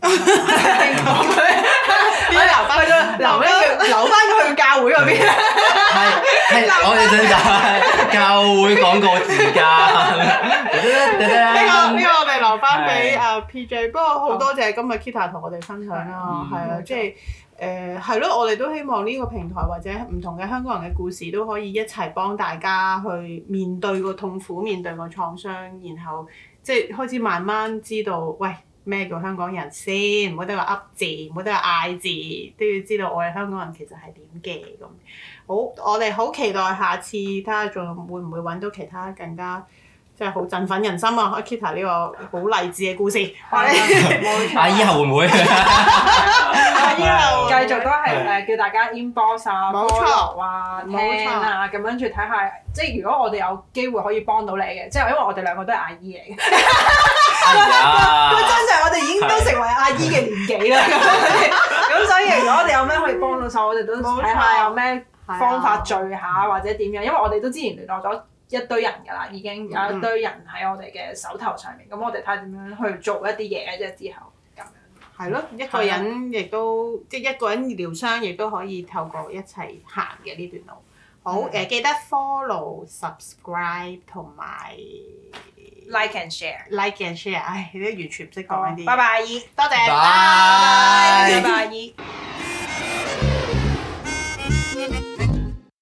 我留翻咗，留翻留翻咗去教會嗰邊。 係係，我哋想就係教會廣告時間。 呢個呢個我哋留翻俾阿 P J。不過好多謝今日 Kita 同我哋分享啦，係啊，即係誒係咯，我哋都希望呢個平台或者唔同嘅香港人嘅故事都可以一齊幫大家去面對個痛苦，面對個創傷，然後即係開始慢慢知道，喂。咩叫香港人先？唔好得個噏字，唔好得個嗌字，都要知道我哋香港人其實係點嘅咁。好，我哋好期待下次睇下仲會唔會揾到其他更加即係好振奮人心啊！阿 Kita 呢個好勵志嘅故事，我哋阿姨後會唔會？ 阿姨以後繼續都係誒叫大家 inbox 啊、 冇錯 follow 啊、 冇錯聽啊，咁跟住睇下，即係如果我哋有機會可以幫到你嘅，即係因為我哋兩個都係阿姨嚟嘅。 哎呀！ 真係我哋已經都成為阿姨嘅年紀啦，咁所以如果我哋有咩可以幫到手，我哋都睇下有咩方法聚下或者點樣，因為我哋都之前聯絡咗一堆人㗎啦，已經有一堆人喺我哋嘅手頭上面，咁我哋睇下點樣去做一啲嘢啫，之後咁樣。係咯，一個人亦都即係一個人療傷，亦都可以透過一齊行嘅呢段路。好誒、呃，記得 follow、subscribe 同埋 like and share。 like and share。唉，你都完全唔識講呢啲嘢。 拜拜， 多謝， 拜拜。 拜拜。